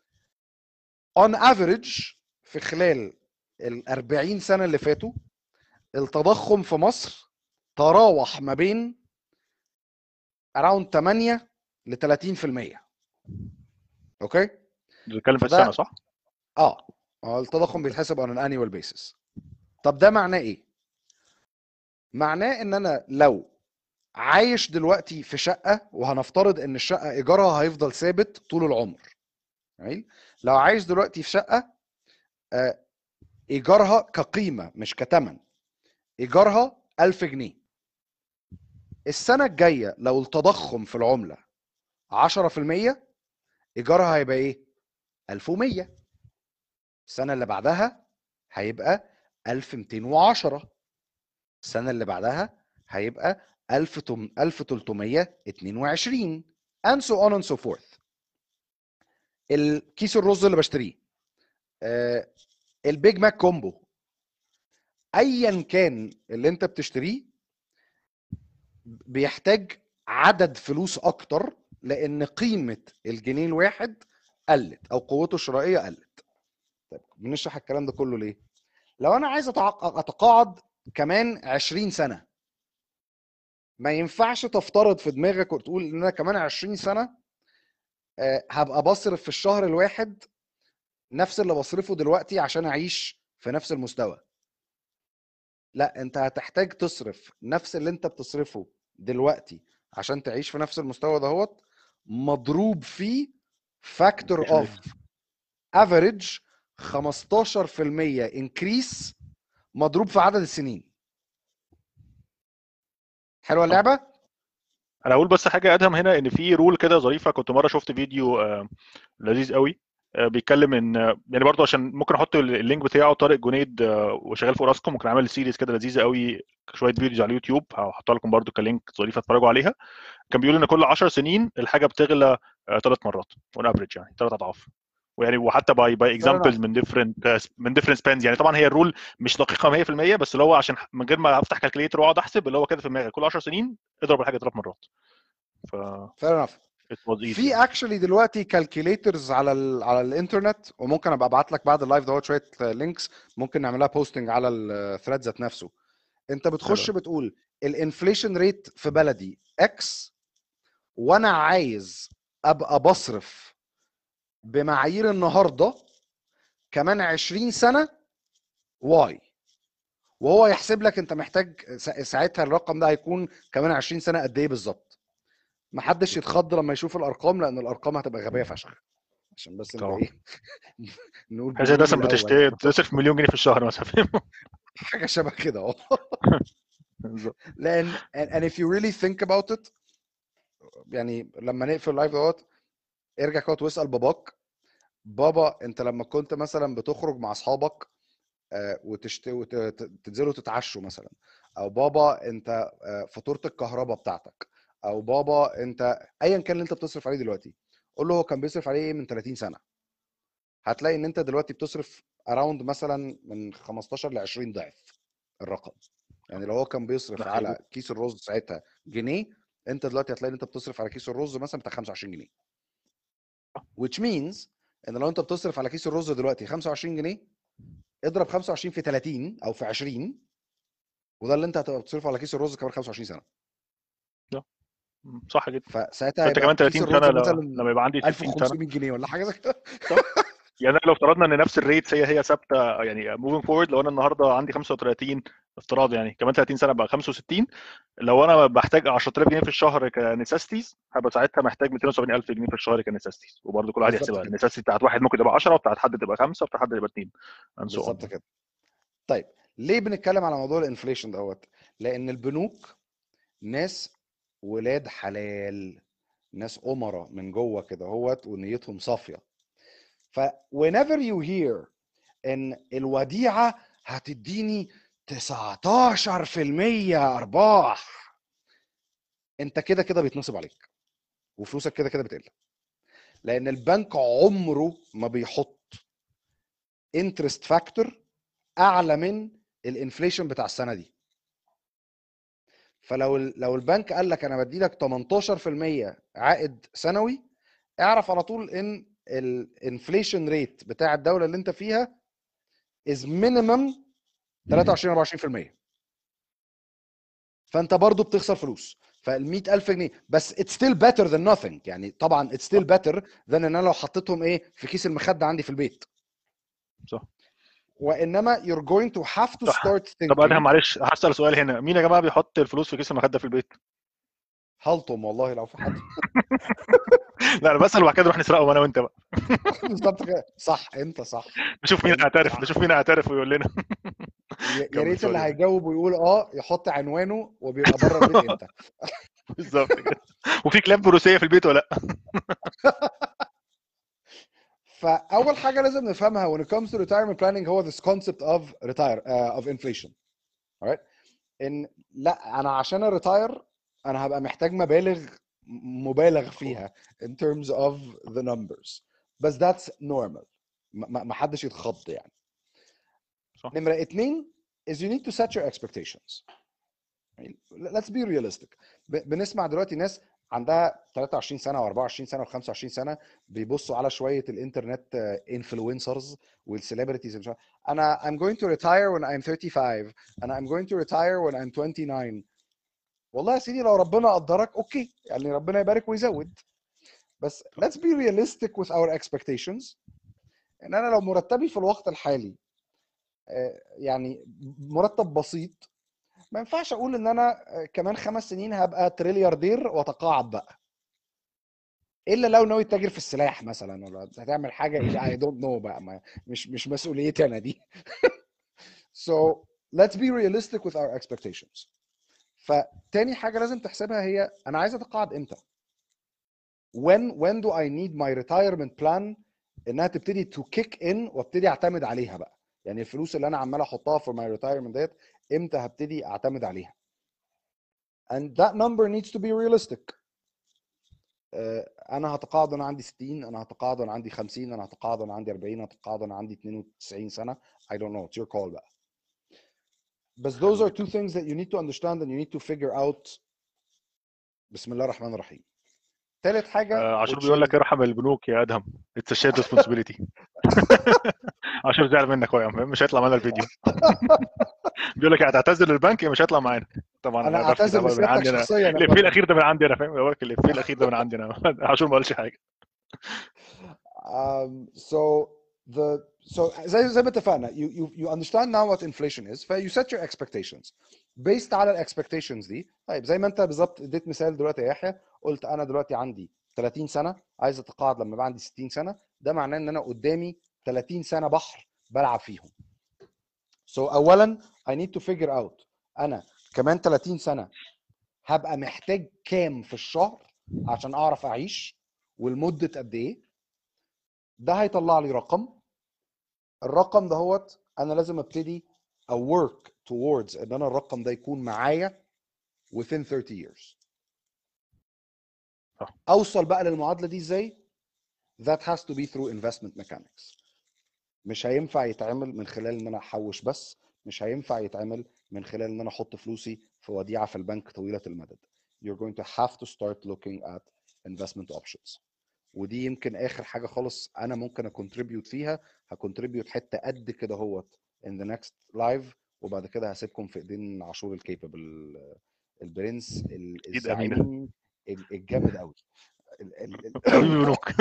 S2: on average في خلال ال أربعين سنه اللي فاتوا التضخم في مصر تراوح ما بين around ثمانية ل ثلاثين في المية. اوكي؟
S1: بنتكلم في السنه صح؟
S2: اه اه التضخم بيتحسب on an annual basis. طب ده معناه ايه؟ معناه ان انا لو عايش دلوقتي في شقه، وهنفترض ان الشقه ايجارها هيفضل ثابت طول العمر. يعني لو عايش دلوقتي في شقه آه ايجارها كقيمه مش كتمن، ايجارها ألف جنيه. السنه الجايه لو التضخم في العمله عشرة في المية ايجارها هيبقى ايه؟ ألف ومية. السنه اللي بعدها هيبقى ألف ومئتين وعشرة. السنه اللي بعدها هيبقى ألف وثلاثمئة واثنين وعشرين and so on and so forth. الكيس الرز اللي بشتريه، آه البيج ماك كومبو، ايا كان اللي انت بتشتريه بيحتاج عدد فلوس اكتر لان قيمه الجنيه الواحد قلت او قوته الشرائيه قلت. طيب بنشرح الكلام ده كله ليه؟ لو انا عايز اتقاعد كمان عشرين سنه، ما ينفعش تفترض في دماغك وتقول ان انا كمان عشرين سنه هبقى بصرف في الشهر الواحد نفس اللي بصرفه دلوقتي عشان اعيش في نفس المستوى. لا، انت هتحتاج تصرف نفس اللي انت بتصرفه دلوقتي عشان تعيش في نفس المستوى دهوت مضروب فيه فاكتور اوف افريج خمستاشر في المية انكريس مضروب في عدد السنين. حلوه اللعبه.
S1: انا اقول بس حاجه ادهم هنا، ان في رول كده ظريفه. كنت مره شفت فيديو لذيذ قوي بيتكلم ان يعني برضه عشان ممكن احط اللينك بتاعه، طارق جنيد وشغال في اوراسكوم، ممكن عامل سيريز كده لذيذه قوي، شويه فيديوز على اليوتيوب هحطها لكم برضه كلينك ظريفه اتفرجوا عليها. كان بيقول ان كل عشر سنين الحاجه بتغلى ثلاث مرات اون افريج، يعني ثلاث اضعاف. ويعني وحتى باي باي اكزامبلز من ديفرنت من ديفرنت سبانز. يعني طبعا هي الرول مش دقيقه مية في المية، بس اللي هو عشان من غير ما افتح كالكوليتر واقعد احسب، اللي هو كده في دماغي كل عشر سنين اضرب الحاجه ثلاث مرات. ف
S2: fair enough. في
S1: يعني.
S2: اكشلي دلوقتي كالكوليترز على ال على الانترنت، وممكن ابقى ابعت لك بعد اللايف دوت شويه لينكس ممكن نعملها بوستنج على الثريد ذات نفسه. انت بتخش
S1: حلو.
S2: بتقول الانفليشن ريت في بلدي اكس، وانا عايز ابقى بصرف بمعايير النهارده كمان عشرين سنه واي، وهو يحسب لك انت محتاج ساعتها الرقم ده هيكون كمان عشرين سنه قد ايه بالظبط. محدش يتخض لما يشوف الارقام لان الارقام هتبقى غبيه فشخ. عشان بس نبقى ايه نقول
S1: حاجه
S2: بالروم
S1: مثلا
S2: الاول
S1: بتشتري تصرف مليون جنيه في الشهر مثلا، فاهم؟
S2: حاجه شبه كده اه. لان and if you really think about it، يعني لما نقفل اللايف دوت ارجع كده واسال باباك، بابا انت لما كنت مثلا بتخرج مع اصحابك وتشت وتنزلوا تتعشوا مثلا، او بابا انت فاتوره الكهرباء بتاعتك، او بابا انت ايا كان اللي انت بتصرف عليه دلوقتي، قول له هو كان بيصرف عليه ايه من ثلاثين سنه، هتلاقي ان انت دلوقتي بتصرف اراوند مثلا من خمستاشر ل عشرين ضعف الرقم. يعني لو هو كان بيصرف على كيس الرز ساعتها جنيه، انت دلوقتي هتلاقي ان انت بتصرف على كيس الرز مثلا بتاع خمسة وعشرين جنيه. which means ان لو انت بتصرف على كيس الرز دلوقتي خمسة وعشرين جنيه، اضرب خمسة وعشرين في ثلاثين او في عشرين، وده اللي انت هتبقى بتصرفه على كيس الرز كمان خمسة وعشرين سنه.
S1: صح جدا.
S2: فساعتها
S1: فانت كمان
S2: هيبقى كيس
S1: ثلاثين سنه
S2: الرز
S1: ل-
S2: مثلا
S1: لما يبقى عندي
S2: ألف
S1: ستين سنه.
S2: وخمسمية جنيه ولا حاجه زي كده.
S1: صح. يعني لو افترضنا ان نفس الريت هي هي ثابته، يعني موفينج فورورد، لو انا النهارده عندي خمسة وثلاثين افتراض، يعني كمان ثلاثين سنه بقى خمسة وستين، لو انا بحتاج عشرة آلاف جنيه في الشهر كنساستيز، هبقى ساعتها محتاج مئتين وسبعين ألف جنيه في الشهر كنساستيز. وبرضه كل واحد
S2: بالظبط
S1: يحسبها،
S2: كده،
S1: النساستيز بتاعت واحد ممكن تبقى عشرة، وبتاعت حد تبقى خمسة، وبتاعت حد تبقى اتنين and so
S2: بالظبط
S1: on.
S2: كده. طيب ليه بنتكلم على موضوع الانفليشن دوت؟ لان البنوك ناس ولاد حلال، ناس أمراء من جوه كده هوت ونيتهم صافيه. ف whenever you hear ان الوديعه هتديني تسعتاشر في المية ارباح، انت كده كده بيتنصب عليك وفلوسك كده كده بتقل. لان البنك عمره ما بيحط انترست فاكتور اعلى من الانفليشن بتاع السنه دي. فلو لو البنك قال لك انا بدي لك تمنتاشر في المية عائد سنوي، اعرف على طول ان الانفليشن ريت بتاع الدوله اللي انت فيها از مينيمم تلاتة وعشرين اربعة وعشرين في المية. فانت برضو بتخسر فلوس. فال مئة ألف جنيه بس it's still better than nothing. يعني طبعا it's still better than ان انا لو حطيتهم ايه في كيس المخده عندي في البيت.
S1: صح.
S2: وانما you're going to have to
S1: صح.
S2: start
S1: طب ادهم
S2: thinking.
S1: معلش هسال سؤال هنا، مين يا جماعه بيحط الفلوس في كيس المخده في البيت؟
S2: هلطم والله لو في حد.
S1: لا انا بسال وبعد كده نروح نسرقهم انا وانت بقى.
S2: بالظبط كده، صح، انت صح،
S1: نشوف مين
S2: انت
S1: هيعترف،
S2: صح.
S1: نشوف مين هيعترف ويقول لنا.
S2: يا يا
S1: كمل
S2: ريت اللي
S1: سوري.
S2: هيجاوب ويقول اه يحط عنوانه وبيبقى بره البيت امتى.
S1: بالظبط كده. وفي كلاب بروسيه في البيت ولا لا؟
S2: فاول حاجه لازم نفهمها when it comes to retirement planning هو this concept of retire uh, of inflation. alright. ان لا انا عشان اريتاير انا هبقى محتاج مبالغ مبالغ فيها in terms of the numbers. بس that's normal. ما ما حدش يتخض يعني.
S1: صح.
S2: نمره اتنين is you need to set your expectations. let's be realistic. ب- بنسمع دلوقتي ناس عندها تلاتة وعشرين سنه واربعة وعشرين سنه وخمسة وعشرين سنه بيبصوا على شويه الانترنت انفلونسرز والسليبرتيز. انا I'm going to retire when I'm thirty-five انا I'm going to retire when I'm twenty-nine. والله يا سيدي لو ربنا قدرك اوكي، يعني ربنا يبارك ويزود. بس let's be realistic with our expectations. ان انا لو مرتبي في الوقت الحالي آه، يعني مرتب بسيط، ما ينفعش اقول ان انا كمان خمس سنين هبقى تريلياردير واتقاعد بقى، الا لو ناوي تتاجر في السلاح مثلا ولا هتعمل حاجه اي دونت نو بقى، ما مش مش مسؤوليتي انا دي. so let's be realistic with our expectations. فتاني حاجه لازم تحسبها هي انا عايز اتقاعد امتى. when when do I need my retirement plan انها تبتدي to kick in وابتدي اعتمد عليها بقى. يعني الفلوس اللي انا عمال احطها في my retirement ديت امتى هبتدي اعتمد عليها. and that number needs to be realistic. انا هتقاعد وانا عندي ستين، انا هتقاعد وانا عندي خمسين، انا هتقاعد وانا عندي اربعين، انا هتقاعد وانا عندي اتنين وتسعين سنه. I don't know, it's your call بقى. بس those are two things that you need to understand and you need to figure out. بسم الله الرحمن الرحيم. ثالث حاجه
S1: آه، عاشور
S2: which
S1: بيقول
S2: is
S1: لك ارحم البنوك يا ادهم، اتس شير ريسبونسبيلتي. عاشور زعل منك اهو يا عم، مش هيطلع معانا الفيديو. بيقول لك هتعتذر للبنك مش هيطلع معانا. طبعا
S2: انا
S1: انا بفتي
S2: اعتذر
S1: ده من
S2: لسيادتك
S1: عندي انا.
S2: شخصيا يا
S1: الافيه
S2: فندم.
S1: الاخير ده من عندي انا، فاهم؟ بقول لك الافيه الاخير ده من عندي انا. عاشور ما قالش حاجه.
S2: um, so the so زي زي ما اتفقنا you you you understand now what inflation is. ف you set your expectations based على الاكسبكتيشنز دي. طيب زي ما انت بالظبط اديت مثال دلوقتي يا يحيى، قلت انا دلوقتي عندي ثلاثين سنه عايز اتقاعد لما يبقى عندي ستين سنه. ده معناه ان انا قدامي ثلاثين سنه بحر بلعب فيهم. so اولا I need to figure out انا كمان ثلاثين سنه هبقى محتاج كام في الشهر عشان اعرف اعيش والمده قد ايه. ده هيطلع لي رقم. الرقم ده هوت انا لازم ابتدي a work towards ان انا الرقم ده يكون معايا within thirty years.
S1: صح.
S2: اوصل بقى للمعادله دي ازاي؟ that has to be through investment mechanics. مش هينفع يتعمل من خلال ان انا احوش بس، مش هينفع يتعمل من خلال ان انا احط فلوسي في وديعه في البنك طويله المدى. you're going to have to start looking at investment options. ودي يمكن اخر حاجه خالص انا ممكن اكونتريبيوت فيها. هكونتريبيوت حته قد كده هوت in the next live، وبعد كده هسيبكم في ايدين عاشور الكيبل البرنس
S1: اكيد امينه
S2: الزعيم الجامد قوي.
S1: حبيبي بنوك.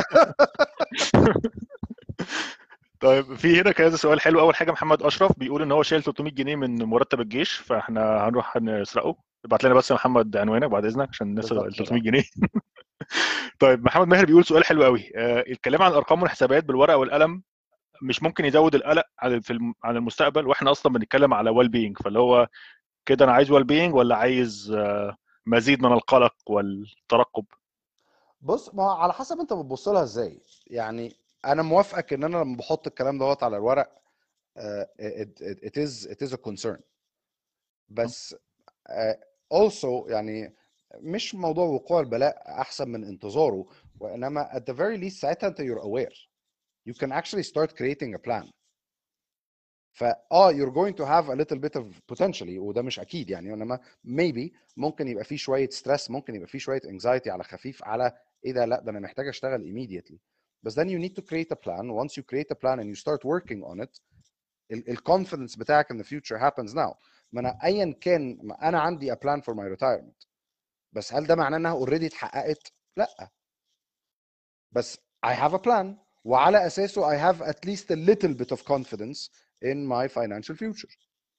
S1: طيب في هنا كذا سؤال حلو. اول حاجه محمد اشرف بيقول ان هو شايل ثلاثمية جنيه من مرتب الجيش، فاحنا هنروح نسرقه. ابعت لنا بس يا محمد عنوانك بعد اذنك عشان نسرق ال
S2: بالظبط
S1: ثلاثمية
S2: كده.
S1: جنيه. طيب محمد ماهر بيقول سؤال حلو قوي. آه الكلام عن الارقام والحسابات بالورقه والقلم مش ممكن يزود القلق على في الم- عن المستقبل، واحنا اصلا بنتكلم على ويل بينج، فاللي هو كده انا عايز ويل بينج ولا عايز آه مزيد من القلق والترقب؟
S2: بص، ما هو على حسب انت بتبص لها ازاي. يعني انا موافقك ان انا لما بحط الكلام دوت على الورق uh, it, it, it is it is a concern، بس uh, also يعني مش موضوع وقوع البلاء احسن من انتظاره، وانما at the very least ساعتها انت you're aware you can actually start creating a plan. فا اه you're going to have a little bit of potentially، وده مش اكيد يعني، انما maybe ممكن يبقى فيه شويه stress، ممكن يبقى فيه شويه anxiety على خفيف، على ايه ده، لا ده انا محتاج اشتغل immediately. بس then you need to create a plan. Once you create a plan and you start working on it، الكونفدنس بتاعك in the future happens now. ما انا ايا كان، ما انا عندي a plan for my retirement، بس هل ده معناه انها اوريدي اتحققت؟ لا، بس I have a plan، وعلى اساسه I have at least a little bit of confidence in my financial future.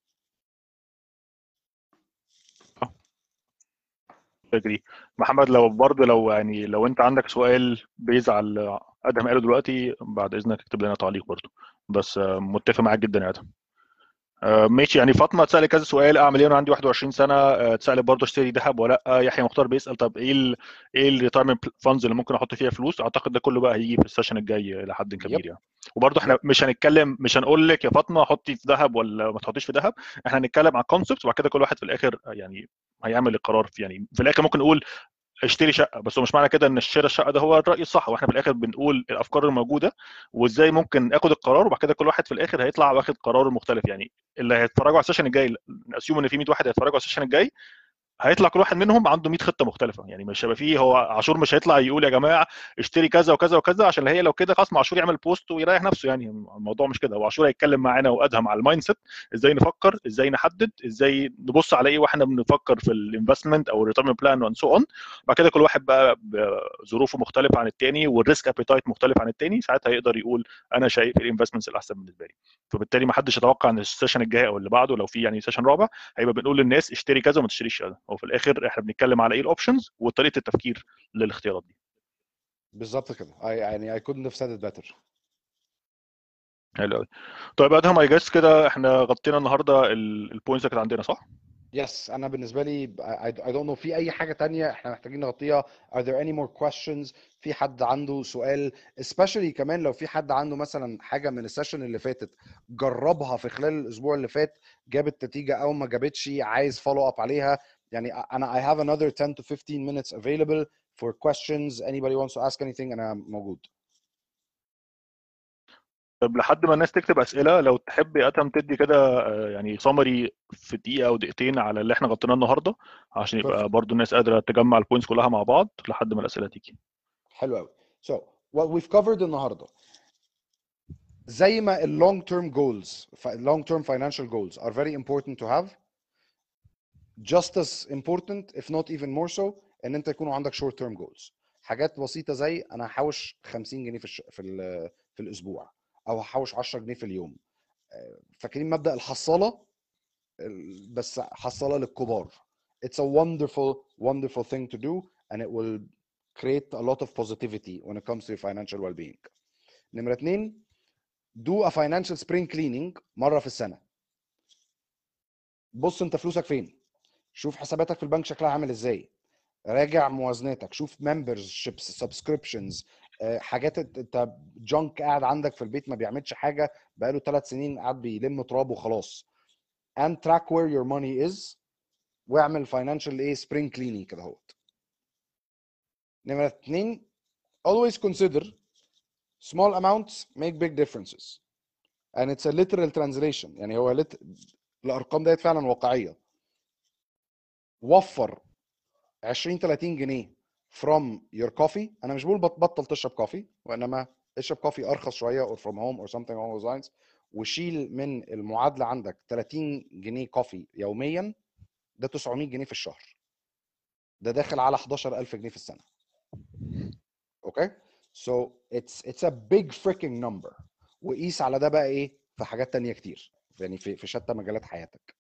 S1: اجري. محمد لو برضه لو يعني لو انت عندك سؤال بيزعل ادهم قاله دلوقتي بعد اذنك اكتب لنا تعليق برضه، بس آه، متفق معاك جدا يا ادهم. آه، ماشي. يعني فاطمه اتسالت كذا سؤال، اعمل ايه وانا عندي واحد وعشرين سنه؟ آه، اتسالت برضه اشتري ذهب ولا لا. يحيى مختار بيسال طب ايه ال ايه الريتايرمنت فاندز اللي ممكن احط فيها فلوس؟ اعتقد ده كله بقى هيجي في السيشن الجاي الى حد كبير
S2: يب
S1: يعني. وبرضه احنا
S2: يب
S1: مش هنتكلم، مش هنقول لك يا فاطمه حطي في ذهب ولا ما تحطيش في ذهب. احنا هنتكلم عن كونسبت، وبعد كده كل واحد في الاخر يعني هيعمل القرار في، يعني في الاخر ممكن نقول اشتري شقه، بس هو مش معنى كده ان شراء الشقه ده هو الراي الصح، واحنا في الاخر بنقول الافكار الموجوده وازاي ممكن اخد القرار، وبعد كده كل واحد في الاخر هيطلع واخد قرار مختلف. يعني اللي هيتفرجوا على السيشن الجاي، اسيوم ان في مية واحد هيتفرجوا على السيشن الجاي، هيطلع كل واحد منهم عنده مية خطه مختلفه. يعني مش هيبقى فيه، هو عاشور مش هيطلع يقول يا جماعه اشتري كذا وكذا وكذا، عشان هي لو كده خلاص ما عاشور يعمل بوست ويريح نفسه. يعني الموضوع مش كده. هو عاشور هيتكلم معانا وادهم على المايند سيت، ازاي نفكر، ازاي نحدد، ازاي نبص على ايه واحنا بنفكر في الانفستمنت او الريتيرن بلان وان سو اون. بعد كده كل واحد بقى بظروفه مختلفه عن الثاني والريسك ابيتايت مختلف عن الثاني، ساعتها يقدر يقول انا شايف الانفستمنتس الاحسن بالنسبه لي. فبالتالي ما حدش يتوقع ان السيشن الجاي او اللي بعده لو في يعني سيشن رابع هيبقى بنقول للناس اشتري كذا وما تشتريش كذا. هو في الاخر احنا بنتكلم على ايه الاوبشنز وطريقه التفكير للاختيارات دي.
S2: بالظبط كده. I, يعني I couldn't have said it better.
S1: حلو قوي. طيب ادهم اي جاس كده احنا غطينا النهارده البوينتس اللي كانت عندنا، صح؟
S2: يس، انا بالنسبه لي I, I don't know في اي حاجه تانية احنا محتاجين نغطيها. Are there any more questions؟ في حد عنده سؤال especially كمان لو في حد عنده مثلا حاجه من السيشن اللي فاتت جربها في خلال الاسبوع اللي فات، جابت نتيجه او ما جابتش، عايز follow up عليها، يعني انا I have another ten to fifteen minutes available for questions. Anybody wants to ask anything انا موجود.
S1: طب لحد ما الناس تكتب اسئله، لو تحب يا ادهم تدي كده آه، يعني سمري في دقيقه او دقيقتين على اللي احنا غطيناه النهارده، عشان يبقى
S2: Perfect.
S1: برضو الناس قادره تجمع البوينتس كلها مع بعض لحد ما الاسئله تيجي.
S2: حلو قوي. So what we've covered النهارده، زي ما ال long term goals long term financial goals are very important to have, just as important if not even more so ان انت يكونوا عندك short term goals. حاجات بسيطه زي انا هحوش خمسين جنيه في الش... في ال... في الاسبوع، او هحوش عشرة جنيه في اليوم. فاكرين مبدأ الحصاله؟ بس حصاله للكبار. It's a wonderful wonderful thing to do and it will create a lot of positivity when it comes to your financial well-being. نمرة اتنين، do a financial spring cleaning مرة في السنة. بص انت فلوسك فين، شوف حساباتك في البنك شكلها عامل ازاي، راجع موازناتك، شوف memberships subscriptions، حاجات انت جانك قاعد عندك في البيت ما بيعملش حاجة بقاله ثلاث سنين قاعد بيلم تراب وخلاص. and track where your money is واعمل financial ايه spring cleaning كده اهوت. نمرة اتنين، always consider small amounts make big differences and it's a literal translation. يعني هو lit... الارقام ديت فعلا واقعيه. وفر عشرين تلاتين جنيه from your coffee. انا مش بقول بطل تشرب كوفي، وانما اشرب كوفي ارخص شويه or from home or something along those lines. وشيل من المعادله عندك ثلاثين جنيه كوفي يوميا، ده تسعمية جنيه في الشهر، ده داخل على حداشر ألف جنيه في السنه. اوكي، so it's it's a big freaking number. وقيس على ده بقى ايه في حاجات تانية كتير، يعني في في شتى مجالات حياتك.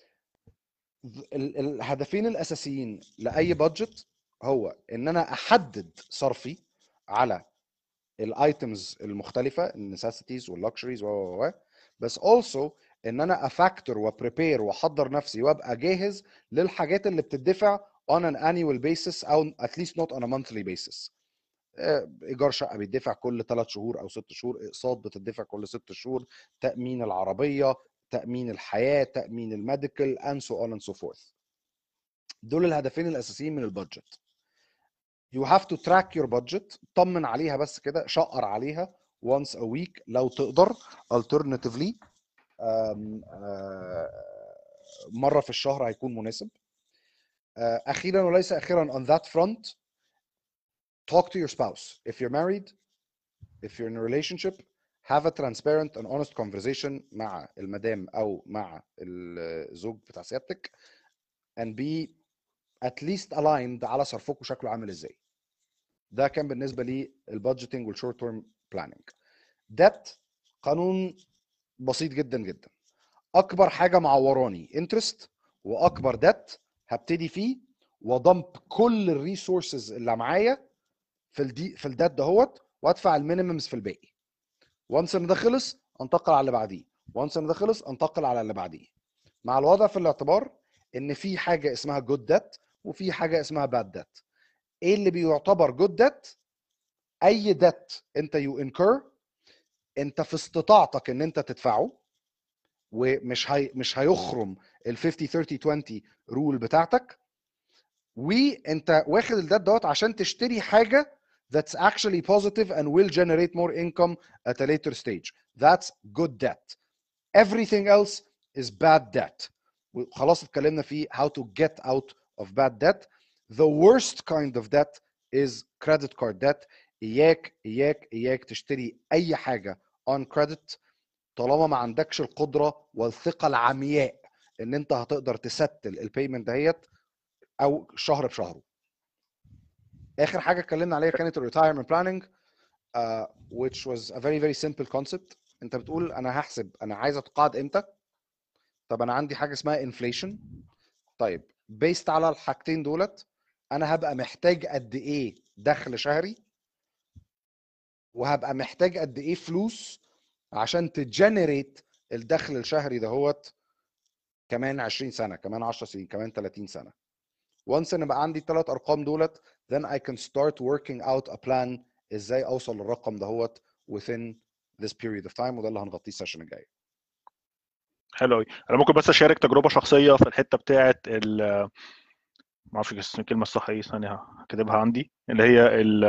S2: ال- الهدفين الاساسيين لاي بادجت هو ان انا احدد صرفي على الايتمز المختلفه، النسيسيتيز واللكشريز و و بس also ان انا افاكتور وبريبير واحضر نفسي وابقى جاهز للحاجات اللي بتدفع on an annual basis او at least not on a monthly basis. ايجار شقه بيدفع كل ثلاث شهور او ست شهور، اقساط بتدفع كل ست شهور، تامين العربيه، تامين الحياه، تامين الميديكال and so on and so forth. دول الهدفين الاساسيين من البادجت. you have to track your budget، طمن عليها بس كده، شقر عليها once a week لو تقدر. alternatively um, uh, مره في الشهر هيكون مناسب. uh, اخيرا وليس اخيرا on that front talk to your spouse. if you're married, if you're in a relationship, have a transparent and honest conversation مع المدام او مع الزوج بتاع سيادتك and be at least aligned على صرفكم شكله عامل ازاي. ده كان بالنسبه لي البادجيتنج والشورت تيرم بلاننج. ديت قانون بسيط جدا جدا. اكبر حاجه معوراني انترست، واكبر ديت هبتدي فيه وضمب كل الريسورسز اللي معايا في الدي في الديت دهوت، وادفع المينيممز في الباقي. وانس ان ده خلص انتقل على اللي بعديه، وانس ان ده خلص انتقل على اللي بعديه، مع الوضع في الاعتبار ان في حاجه اسمها جود ديت وفي حاجه اسمها باد ديت. ايه اللي بيعتبر جود ديت؟ اي ديت انت يو انكر انت في استطاعتك ان انت تدفعه، ومش هي مش هيخرم ال خمسين ثلاثين عشرين رول بتاعتك، وانت واخد الديت دوت عشان تشتري حاجه that's actually positive and will generate more income at a later stage. That's good debt. Everything else is bad debt. خلاص اتكلمنا في how to get out of bad debt. The worst kind of debt is credit card debt. اياك اياك اياك تشتري اي حاجه on credit طالما ما عندكش القدره والثقه العمياء ان انت هتقدر تستل البيمنت دهيت او شهر بشهره. اخر حاجه اتكلمنا عليها كانت الريتايرمنت بلاننج uh, which was a very very simple concept. انت بتقول انا هحسب انا عايز اتقاعد امتى. طب انا عندي حاجه اسمها انفليشن. طيب بيست على الحاجتين دولت انا هبقى محتاج قد ايه دخل شهري، وهبقى محتاج قد ايه فلوس عشان تجنريت الدخل الشهري دهوت كمان عشرين سنه، كمان عشر سنين، كمان ثلاثين سنه. once ان بقى عندي الثلاث ارقام دولت then I can start working out a plan ازاي اوصل للرقم دهوت within this period of time، وده اللي هنغطيه السيشن الجاي.
S1: حلو قوي. انا ممكن بس اشارك تجربه شخصيه في الحته بتاعه ال ما اعرفش الكلمه الصح ايه، ثانيه هكتبها عندي، اللي هي ال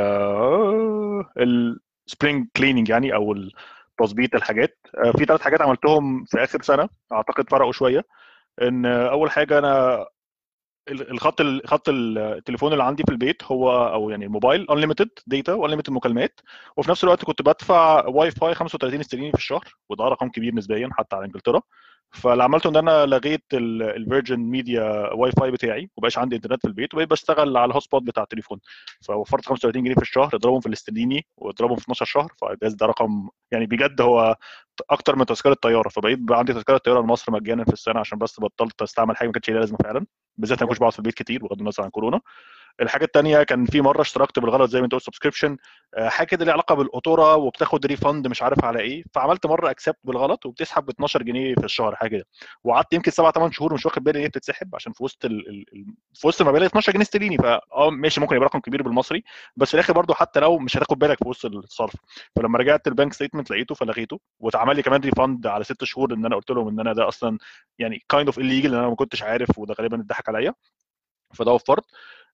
S1: السبرينج كليننج يعني، او تظبيط الحاجات. في ثلاث حاجات عملتهم في اخر سنه اعتقد فرقوا شويه. ان اول حاجه انا الخط خط التليفون اللي عندي في البيت هو او يعني الموبايل انليمتد داتا وانليمتد مكالمات، وفي نفس الوقت كنت بدفع واي فاي خمسة وثلاثين استرليني في الشهر، وده رقم كبير نسبيا حتى على انجلترا. فاللي عملته ان انا لغيت الفيرجن ميديا واي فاي بتاعي، وبقاش عندي انترنت في البيت، وبقيت بشتغل على الهوت سبوت بتاع التليفون. فوفرت خمسة وثلاثين جنيه في الشهر، اضربهم في الاسترليني واضربهم في اتناشر شهر، فجاز ده رقم يعني بجد هو اكتر من تذكره طياره. فبقيت بقى عندي تذكره طياره لمصر مجانا في السنه، عشان بس بطلت استعمل حاجه ما كانتش ليها لازمه فعلا، بالذات انا ما كنتش بقعد في البيت كتير بغض النظر عن كورونا. الحاجه الثانيه كان في مره اشتركت بالغلط زي ما انت قلت سبسكريبشن، حاجه كده ليها علاقه بالقطوره وبتاخد ريفند مش عارف على ايه، فعملت مره اكسبت بالغلط وبتسحب ب اتناشر جنيه في الشهر حاجه كده، وقعدت يمكن سبعة ثمانية شهور مش واخد بالي ان هي بتتسحب، عشان في وسط ال... ال... في وسط المبالغ اتناشر جنيه استرليني، فاه ماشي ممكن يبقى رقم كبير بالمصري، بس في الاخر برضو حتى لو مش هتاخد بالك في وسط الصرف. فلما رجعت البنك ستيتمنت لقيته فلغيته، واتعمل لي كمان ريفند على ست شهور، ان انا قلت لهم ان انا ده اصلا يعني كايند اوف الليجل، ان انا ما كنتش عارف، وده غالبا اتضحك عليا، فده وفرت.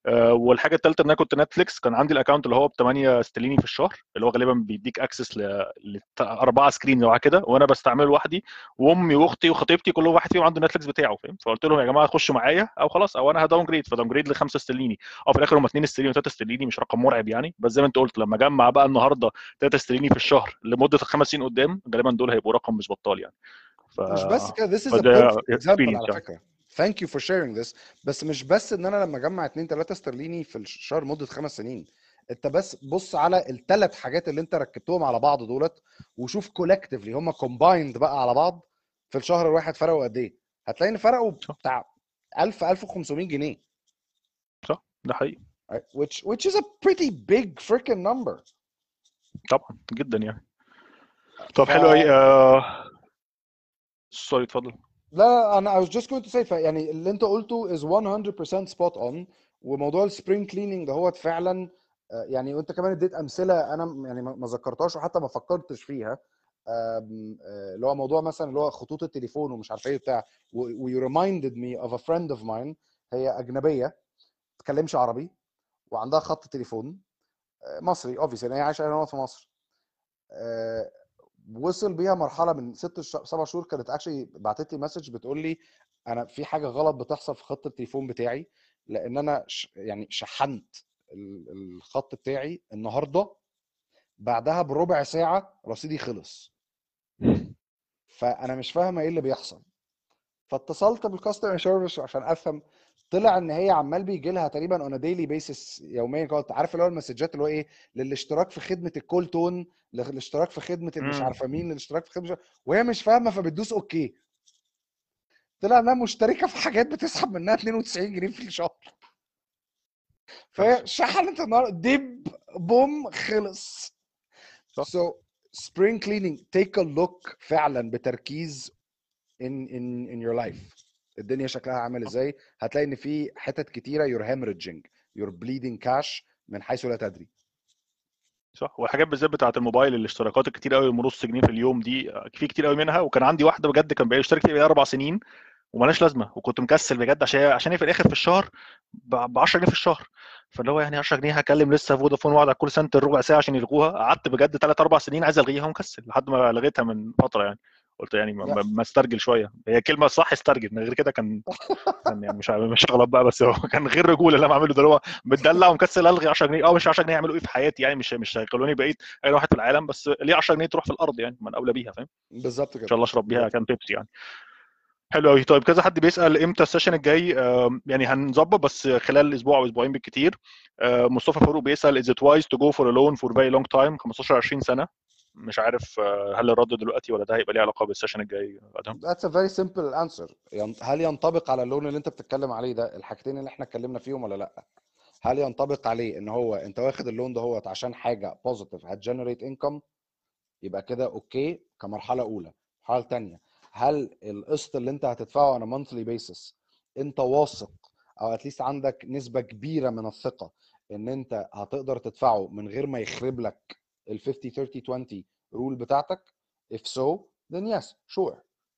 S1: آه، والحاجه الثالثه ان انا كنت نتفليكس، كان عندي الاكونت اللي هو ب ثمانية استرليني في الشهر، اللي هو غالبا بيديك اكسس لاربعه سكرين او كده، وانا بستعمله لوحدي، وامي واختي وخطيبتي كل واحد فيهم عنده نتفليكس بتاعه، فاهم؟ فقلت لهم يا جماعه خشوا معايا او خلاص، او انا هداون جريد، فداون جريد ل خمسة استرليني، او في الاخر هم اتنين استرليني و3 استرليني، مش رقم مرعب يعني، بس زي ما انت قلت لما اجمع بقى النهارده ثلاثة استرليني في الشهر لمده خمس سنين قدام، غالبا دول هيبقوا رقم مش بطال يعني. ف
S2: مش بس كده، this is a
S1: فده
S2: perfect example
S1: اكسبيرينس
S2: على
S1: يعني.
S2: فكره. thank you for sharing this. بس مش بس ان انا لما اجمع اتنين تلاتة استرليني في الشهر مده خمس سنين، انت بس بص على الثلاث حاجات اللي انت ركبتهم على بعض دولت، وشوف كولكتيفلي هم كومبايند بقى على بعض في الشهر الواحد فرقوا قد ايه. هتلاقي ان فرقوا
S1: صح
S2: بتاع ألف ألف وخمسمية جنيه،
S1: صح ده حقيقي.
S2: right? which which is a pretty big freaking number.
S1: طبعا جدا يعني. طب
S2: ف
S1: حلو قوي. آه... سوري اتفضل.
S2: لا انا I was just going to say يعني اللي انت قلته is one hundred percent spot on. وموضوع السبرينج كليننج ده هو فعلا آه، يعني وانت كمان اديت امثله انا م- يعني ما ما ذكرتهاش وحتى ما فكرتش فيها. آم، آه، اللي هو موضوع مثلا اللي هو خطوط التليفون ومش عارف ايه بتاع و you reminded me of a friend of mine. هي اجنبيه ما بتتكلمش عربي وعندها خط تليفون آه، مصري obviously لان هي عايشه هنا في مصر. آه، وصل بيها مرحله من ست ش- سبع شهور كانت اكشلي بعتت لي مسج بتقول لي انا في حاجه غلط بتحصل في خط التليفون بتاعي، لان انا ش... يعني شحنت ال- الخط بتاعي النهارده، بعدها بربع ساعه رصيدي خلص، فانا مش فاهمه ايه اللي بيحصل. فاتصلت بالكاستمر سيرفيس عشان افهم. طلع ان هي عمال بيجي لها تقريبا اون ديلي بيسس يوميا كده، عارف اللي هو المسجات اللي هو ايه، للاشتراك في خدمه الكول تون، للاشتراك في خدمه المش
S1: امم
S2: عارفه مين، للاشتراك في خدمه، وهي مش فاهمه فبتدوس اوكي. طلع انها مشتركه في حاجات بتسحب منها اتنين وتسعين جنيه في الشهر، فهي
S1: كارثه.
S2: شحنت النهارده دب بوم خلص.
S1: صح
S2: So spring cleaning take a look فعلا بتركيز in in in your life الدنيا شكلها عامل ازاي. هتلاقي ان في حتت كتيره you're hemorrhaging you're bleeding cash من حيث لا تدري.
S1: صح. والحاجات بالذات بتاعه الموبايل، الاشتراكات الكتير قوي نص جنيه في اليوم دي، آه، في كتير قوي منها، وكان عندي واحده بجد كان بقى يشترك فيها اربع سنين، ومالهاش لازمه، وكنت مكسل بجد عشان عشان هي في الاخر في الشهر ب عشرة جنيه في الشهر، فاللي هو يعني عشرة جنيه هكلم لسه فودافون واقعد على الكول سنتر ربع ساعه عشان يلغوها، قعدت بجد ثلاث اربع سنين عايز الغيها ومكسل لحد ما لغيتها من فتره يعني. قلت يعني ما,
S2: يا
S1: ما ما استرجل شويه، هي كلمه صح استرجل، من غير كده كان كان يعني مش مش هغلط بقى، بس هو كان غير رجوله اللي انا بعمله ده، اللي هو متدلع ومكسل الغي عشرة جنيه. اه مش عشرة جنيه يعملوا ايه في حياتي يعني، مش مش هيخلوني بقيت اي واحد في العالم، بس ليه عشرة جنيه تروح في الارض يعني، من اولى بيها، فاهم؟
S2: بالظبط
S1: ان
S2: كده
S1: شاء الله اشرب بيها
S2: بالظبط
S1: كان
S2: كده.
S1: بيبسي يعني. حلو قوي. طيب كذا حد بيسال امتى السيشن الجاي، آم، يعني هنظبط بس خلال اسبوع او اسبوعين بالكتير. آه، مصطفى فاروق بيسال is it wise to go for a loan for very long time، خمستاشر عشرين سنه. مش عارف آه، هل الرد دلوقتي ولا ده هيبقى ليه علاقه بالسيشن الجاي ادهم؟
S2: That's a very simple answer. ين- هل ينطبق على اللون اللي انت بتتكلم عليه ده الحاجتين اللي احنا اتكلمنا فيهم ولا لا؟ هل ينطبق عليه ان هو انت واخد اللون ده هو عشان حاجه بوزيتيف هتجنريت انكم، يبقى كده اوكي كمرحله اولى. مرحله تانية، هل القسط اللي انت هتدفعه على مونثلي بيسس انت واثق او اتليست عندك نسبه كبيره من الثقه ان انت هتقدر تدفعه من غير ما يخرب لك ال خمسين ثلاثين عشرين رول بتاعتك؟ if so then yes sure.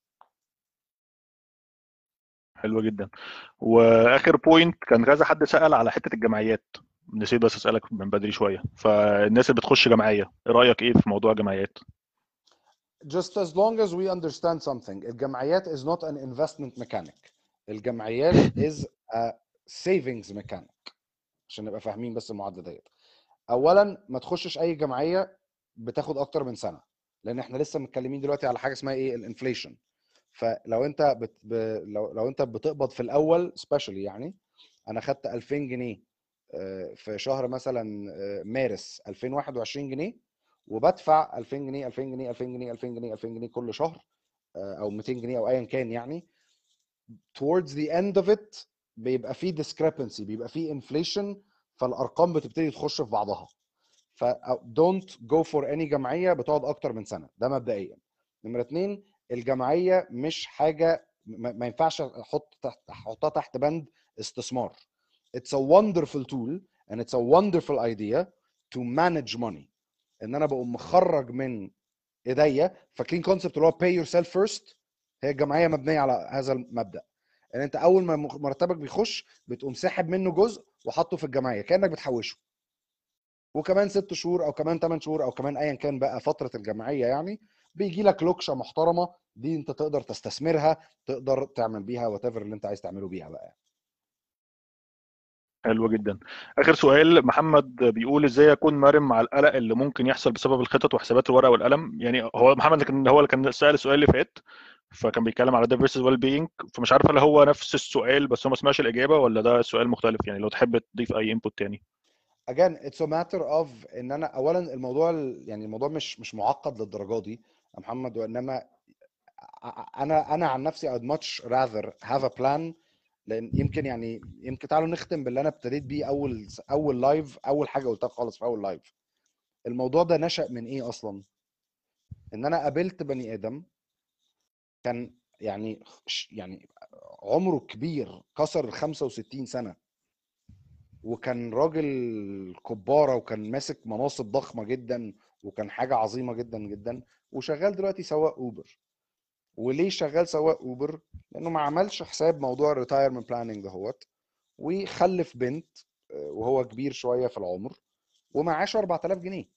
S1: حلو جدا. واخر بوينت كان كذا حد سال على حته الجمعيات، نسيت بس اسالك من بدري شويه، فالناس اللي بتخش جمعيه ايه رايك ايه في موضوع الجمعيات؟
S2: just as long as we understand something الجمعيات is not an investment mechanic. الجمعيات is a savings mechanic عشان نبقى فاهمين بس المعادله ديت. اولا ما تخشش اي جمعيه بتاخد اكتر من سنه، لان احنا لسه متكلمين دلوقتي على حاجه اسمها ايه الانفليشن. فلو انت بت... ب... لو لو انت بتقبض في الاول سبيشالي يعني، انا خدت ألفين جنيه آه، في شهر مثلا آه، مارس ألفين وواحد وعشرين جنيه، وبدفع ألفين جنيه ألفين جنيه ألفين جنيه ألفين جنيه ألفين جنيه كل شهر آه، او ميتين جنيه او ايا كان يعني. towards the end of it بيبقى فيه discrepancy، بيبقى فيه inflation، فالارقام بتبتدي تخش في بعضها. ف don't go for any جمعيه بتقعد اكتر من سنه، ده مبدئيا. نمره اتنين، الجمعيه مش حاجه ما ما ينفعش احط تحت احطها تحت بند استثمار. it's a wonderful tool and it's a wonderful idea to manage money. ان انا بقوم مخرج من ايديا، فاكرين كونسبت اللي هو pay yourself first؟ هي الجمعيه مبنيه على هذا المبدا. ان انت اول ما مرتبك بيخش بتقوم ساحب منه جزء وحطه في الجمعيه كانك بتحوشه، وكمان ست شهور او كمان ثمان شهور او كمان ايا كان بقى فتره الجمعيه يعني بيجي لك لوكشه محترمه دي انت تقدر تستثمرها، تقدر تعمل بيها وات ايفر اللي انت عايز تعمله بيها بقى.
S1: حلو جدا. اخر سؤال، محمد بيقول ازاي اكون مرن مع القلق اللي ممكن يحصل بسبب الخطط وحسابات الورقه والقلم. يعني هو محمد كان هو اللي كان سال السؤال اللي فات، فكان بيتكلم على ده فيرسز ويل بينج، فمش عارف هل هو نفس السؤال بس هو ما سمعش الاجابه ولا ده سؤال مختلف. يعني لو تحب تضيف اي انبوت تاني.
S2: again it's a matter of ان انا اولا الموضوع يعني الموضوع مش مش معقد للدرجه دي يا محمد، وانما انا انا عن نفسي I'd much rather have a plan. لان يمكن يعني يمكن تعالوا نختم باللي انا ابتديت بيه اول اول لايف، اول حاجه قلتها خالص في اول لايف. الموضوع ده نشأ من ايه اصلا؟ ان انا قابلت بني ادم كان يعني يعني عمره كبير كسر ال خمسة وستين سنه، وكان راجل كبارة وكان ماسك مناصب ضخمة جدا وكان حاجة عظيمة جدا جدا، وشغال دلوقتي سواق اوبر. وليه شغال سواق اوبر؟ لانه ما عملش حساب موضوع الريتايرمنت بلاننج دهوت، وخلف بنت وهو كبير شوية في العمر ومعاش أربعة آلاف جنيه،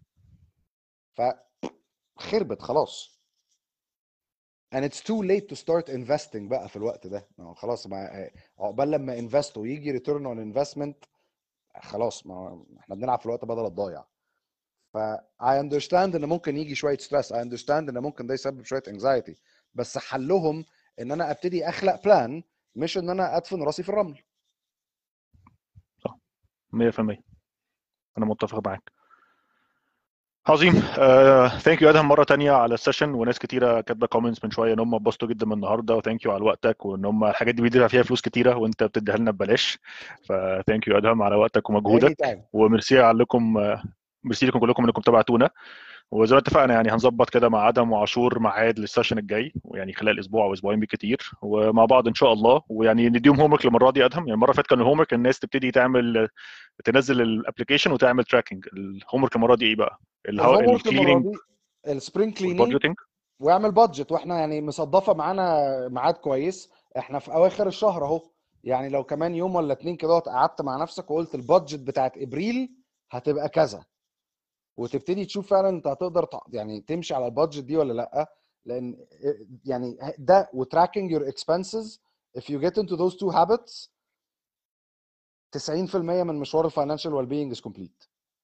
S2: فخربت خلاص. and it's too late to start investing بقى في الوقت ده. خلاص ما عقبال لما انفست ويجي return on investment خلاص، ما احنا بنلعب في الوقت بدل الضايع. ف I understand ان ممكن يجي شويه ستريس، I understand ان ممكن ده يسبب شويه anxiety، بس حلهم ان انا ابتدي اخلق بلان، مش ان انا ادفن راسي في الرمل.
S1: صح مية في المية انا متفق معاك. عظيم. ثانك يو ادهم مره تانية على السيشن، وناس كتيره كاتبه كومنتس من شويه ان هم اتبسطوا جدا من النهارده، وثانك يو على وقتك، وان هم الحاجات دي بيدفع فيها فلوس كتيره وانت بتديها لنا ببلاش. فثانك يو ادهم على وقتك
S2: any
S1: ومجهودك،
S2: time.
S1: وميرسي عليكم، ميرسي لكم كلكم انكم تابعتونا. وزي ما اتفقنا يعني هنظبط كده مع ادم وعاشور ميعاد للسيشن الجاي، ويعني خلال اسبوع او اسبوعين بالكتير ومع بعض ان شاء الله. ويعني نديهم هوم ورك المره دي. ادهم يعني المره اللي فاتت كان الهوم ورك الناس تبتدي تعمل تنزل الابلكيشن وتعمل تراكنج. الهوم ورك المره دي ايه بقى؟
S2: الهوم ورك المره
S1: الكليننج
S2: دي السبرينج كليننج
S1: والبادجيتنج.
S2: واعمل بادجت، واحنا يعني مصدفه معانا ميعاد كويس، احنا في اواخر الشهر اهو، يعني لو كمان يوم ولا اتنين كده قعدت مع نفسك وقلت البادجت بتاعت ابريل هتبقى كذا، وتبتدي تشوف فعلا انت هتقدر يعني تمشي على البادجت دي ولا لا. لان يعني ده وتراكنج يور اكسبنسز if you get into those two habits تسعين في المية من مشوار الفاينانشال ويل بينج از كومبليت.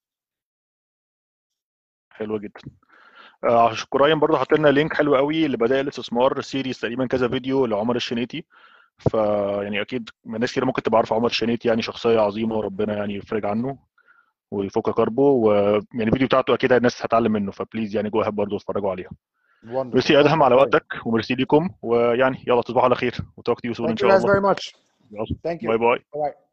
S1: حلو جدا. آه قريبا برضه حط لنا لينك حلو قوي لبدائل الاستثمار سيريز، تقريبا كذا فيديو لعمر الشنيتي. فيعني اكيد ناس كتير ممكن تبقى عارفه عمر الشنيتي، يعني شخصيه عظيمه وربنا يعني يفرج عنه ويفك كربه، ويعني الفيديو بتاعته اكيد الناس هتتعلم منه، فبليز يعني جو اهاب برضه اتفرجوا عليها.
S2: Wonderful.
S1: ميرسي
S2: Thank
S1: ادهم
S2: you
S1: على
S2: very
S1: وقتك، وميرسي ليكم، ويعني يلا تصبحوا على خير وتوك تو يو سون ان
S2: Thank you
S1: شاء
S2: guys
S1: الله.
S2: very much.
S1: يلا
S2: Thank you.
S1: باي باي.
S2: Bye.